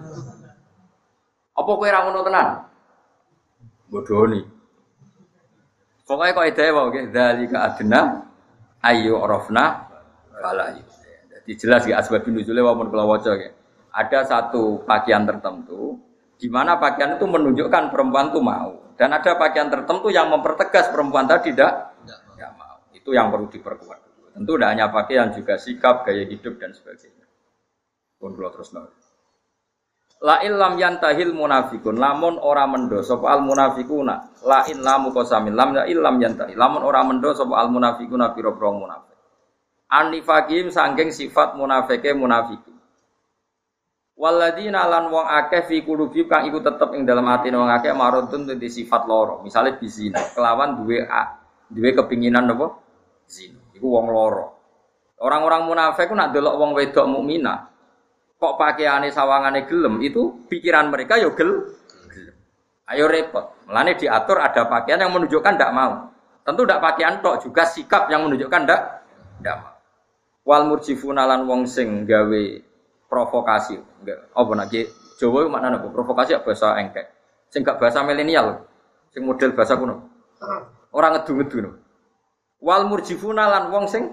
Apa kue rangono tenan? Bodoh nih. Pokoknya kau ide wae, dari ke adna, ayu orofna. Kalau jadi jelas ya asbabun nuzule walaupun kalau waca ya. Ada satu pakaian tertentu di mana pakaian itu menunjukkan perempuan itu mau dan ada pakaian tertentu yang mempertegas perempuan tadi tidak tidak mau. Itu yang perlu diperkuat. Tentu tidak hanya pakaian juga sikap, gaya hidup dan sebagainya. Pun kalau terus nol. La illam yantahil munafikun lamun ora mendo sapa al munafikuna la in lamu qasamin lam la illam yantahi lamun ora mendo sapa al munafikuna pira-pira munafik. Anifaqim sangking sifat munafike munafiki. Waladina lan wong akeh fi qulubi kang iku tetep ing dalam atine wong akeh marudun dadi sifat loro. Misale bizina, kelawan duwe a, duwe kepinginan apa? Zina. Iku wong loro. Orang-orang munafik ku nak delok wong wedok mukminah, kok pakaiane sawangane gelem, itu pikiran mereka yo gel. gelem. Ayo repot. Mulane diatur ada pakaian yang menunjukkan ndak mau. Tentu ndak pakaian tok, juga sikap yang menunjukkan ndak ndak mau. Wal murjifuna lan wong sing gawe provokasi. Enggak apa nek Jawa maknane apa? Provokasi bahasa engkek. Sing gak bahasa milenial. Sing model bahasa kuno. Ora ngedu-ngedu. Wal murjifuna lan wong sing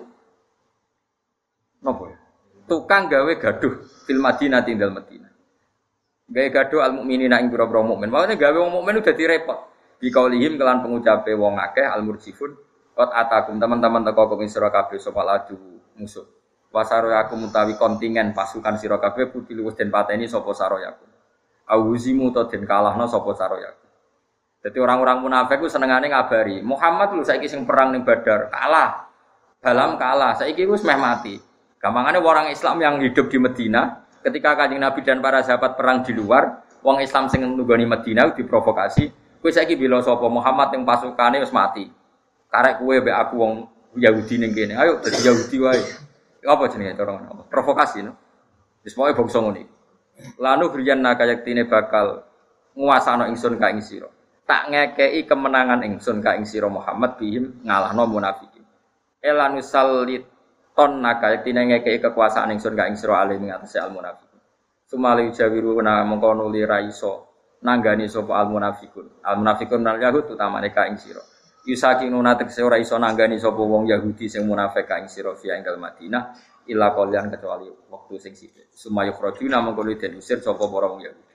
napa ya? Tukang gawe gaduh fil Madinah tinggal Madinah. Gawe gaduh al mukminina ing pira-pira mukmin. Maksudnya gawe wong mukmin udah direpot. Bi kaulihim kelan pengucape wong akeh al murjifun qad atakum teman-teman teko ing sira kabeh sapa laju musuh. Wasaroyaku mutawi kontingen pasukan sira kabeh putih wis den pateni sapa saroyaku. Auzimu to den kalahno sapa saroyaku. Dadi orang-orang munafik ku senengane ngabari, Muhammad lho saiki sing perang ning Badar kalah. Balam kalah, saiki wis meh mati. Gampangane orang Islam yang hidup di Madinah ketika Kanjeng Nabi dan para sahabat perang di luar, wong Islam sing nunggoni Madinah diprovokasi, kowe saiki bela sapa Muhammad yang pasukane wis mati. Karek kowe mbek aku wong Yahudi ning kene. Ayo dadi Yahudi wae. Apa jenenge cara ngono? Provokasi no. Wis pokoke bangsa ngene. Lanu briyanna kayaktine bakal nguasano ingsun ka ing sira. Tak ngekeki kemenangan ingsun ka ing sira Muhammad bihim ngalahno munafikin. Elanu salit ton nakayaktine ngekeki kekuasaan ingsun ka ing sira ali ing atase al munafikin. Sumali jawiru na mengko nuli ra iso nanggani sapa al munafikun. Al munafikun nal yahud utamane ka ing sira. Yusakinuna tekse ora iso nanggani sapa wong Yahudi sing munafik ka ing sira fi ing Madinah illa qalian kecuali waktu sing sithik. Sumayu khrajuna mengko den usir sapa para wong Yahudi.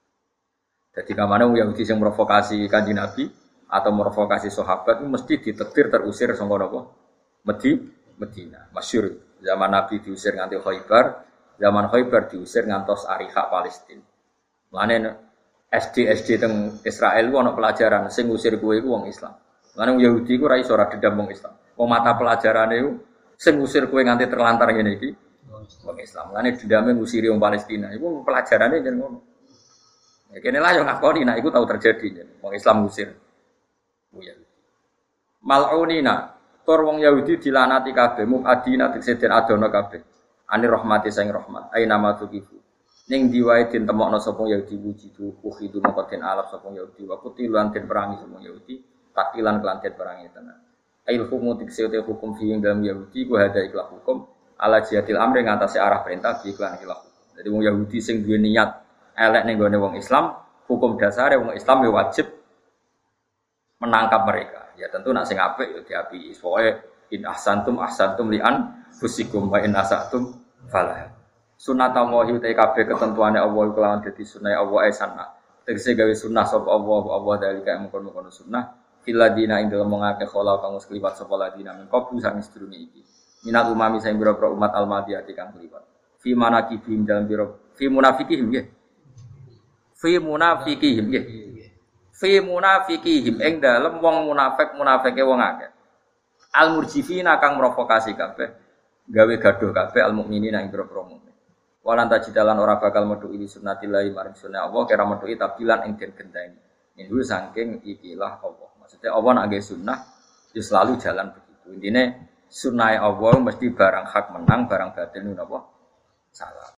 Dadi kamane wong Yahudi sing provokasi Kanjeng Nabi atau provokasi sahabat mesti ditetir terusir saka napa? Medi Madinah. Masyhur zaman Nabi diusir nganti Khaibar, zaman Khaibar diusir ngantos Ariha Palestina. Mane S D S D teng Israel ku ana pelajaran sing ngusir kowe iku wong Islam. Lan wong Yahudi ku ora iso ora dendam wong Islam. Wong mata pelajarane iku sing ngusir kowe nganti terlantar ngene iki wong Islam. Lan dendame ngusiri wong Palestina. Iku pelajarane jen ngono. Ya kene lah yo ngakoni nek iku tau terjadi jen. Wong Islam ngusir wong Yahudi. Mal'unina tur wong Yahudi dilanati kabeh, mukadina tekse den adono kabeh. Ani rahmati sing rahmat. Aina matukifu. Ning diwae den temokno sapa Yahudi wujidu ukhidu moko den alaf sapa Yahudi wa kutilan den perangi sapa Yahudi. Takilan kelantet barangnya tenan. Ail hukum tikse te hukum fi ing dalam Yahudi ku hada ikhlas hukum ala jihadil amri ngatasi arah perintah di iklan ikhlas hukum. Jadi wong Yahudi sing duwe niat elek ning gone wong Islam, hukum dasare wong Islam ya wajib menangkap mereka. Ya tentu nak sing apik ya diapiki. Pokoke in ahsantum ahsantum li'an fusikum wa in asatum falah. Sunnatullahi ta kabeh ketentuane Allah kelawan dadi sunah Allah ae sanah. Tegese gawe sunah sapa Allah Allah dalika mengkono-kono sunah. Filadina ing dalem ngake khala kang wis kliwat sapa ladina min qablu sang sedurunge iki. Minal umami sing pira-pira umat al-madiyati kang kliwat. Fi manaqibihim dalem pira fi munafiqihim nggih. Fi munafiqihim nggih. Fi munafiqihim ing dalem wong munafik munafike wong akeh. Al murjifina kang provokasi kabeh, gawe gaduh kabeh al mukminina ing pira-pira mukmin. Walan tajidalan ora bakal metu iki sunnatillahi maring sunah Allah kira metu tabilan ing den genteni. Ini saking ikilah Allah. Maksudnya Allah nak nggih sunnah, ya selalu jalan begitu. Intine sunnah Allah mesti barang hak menang, barang batil niku napa? Salah.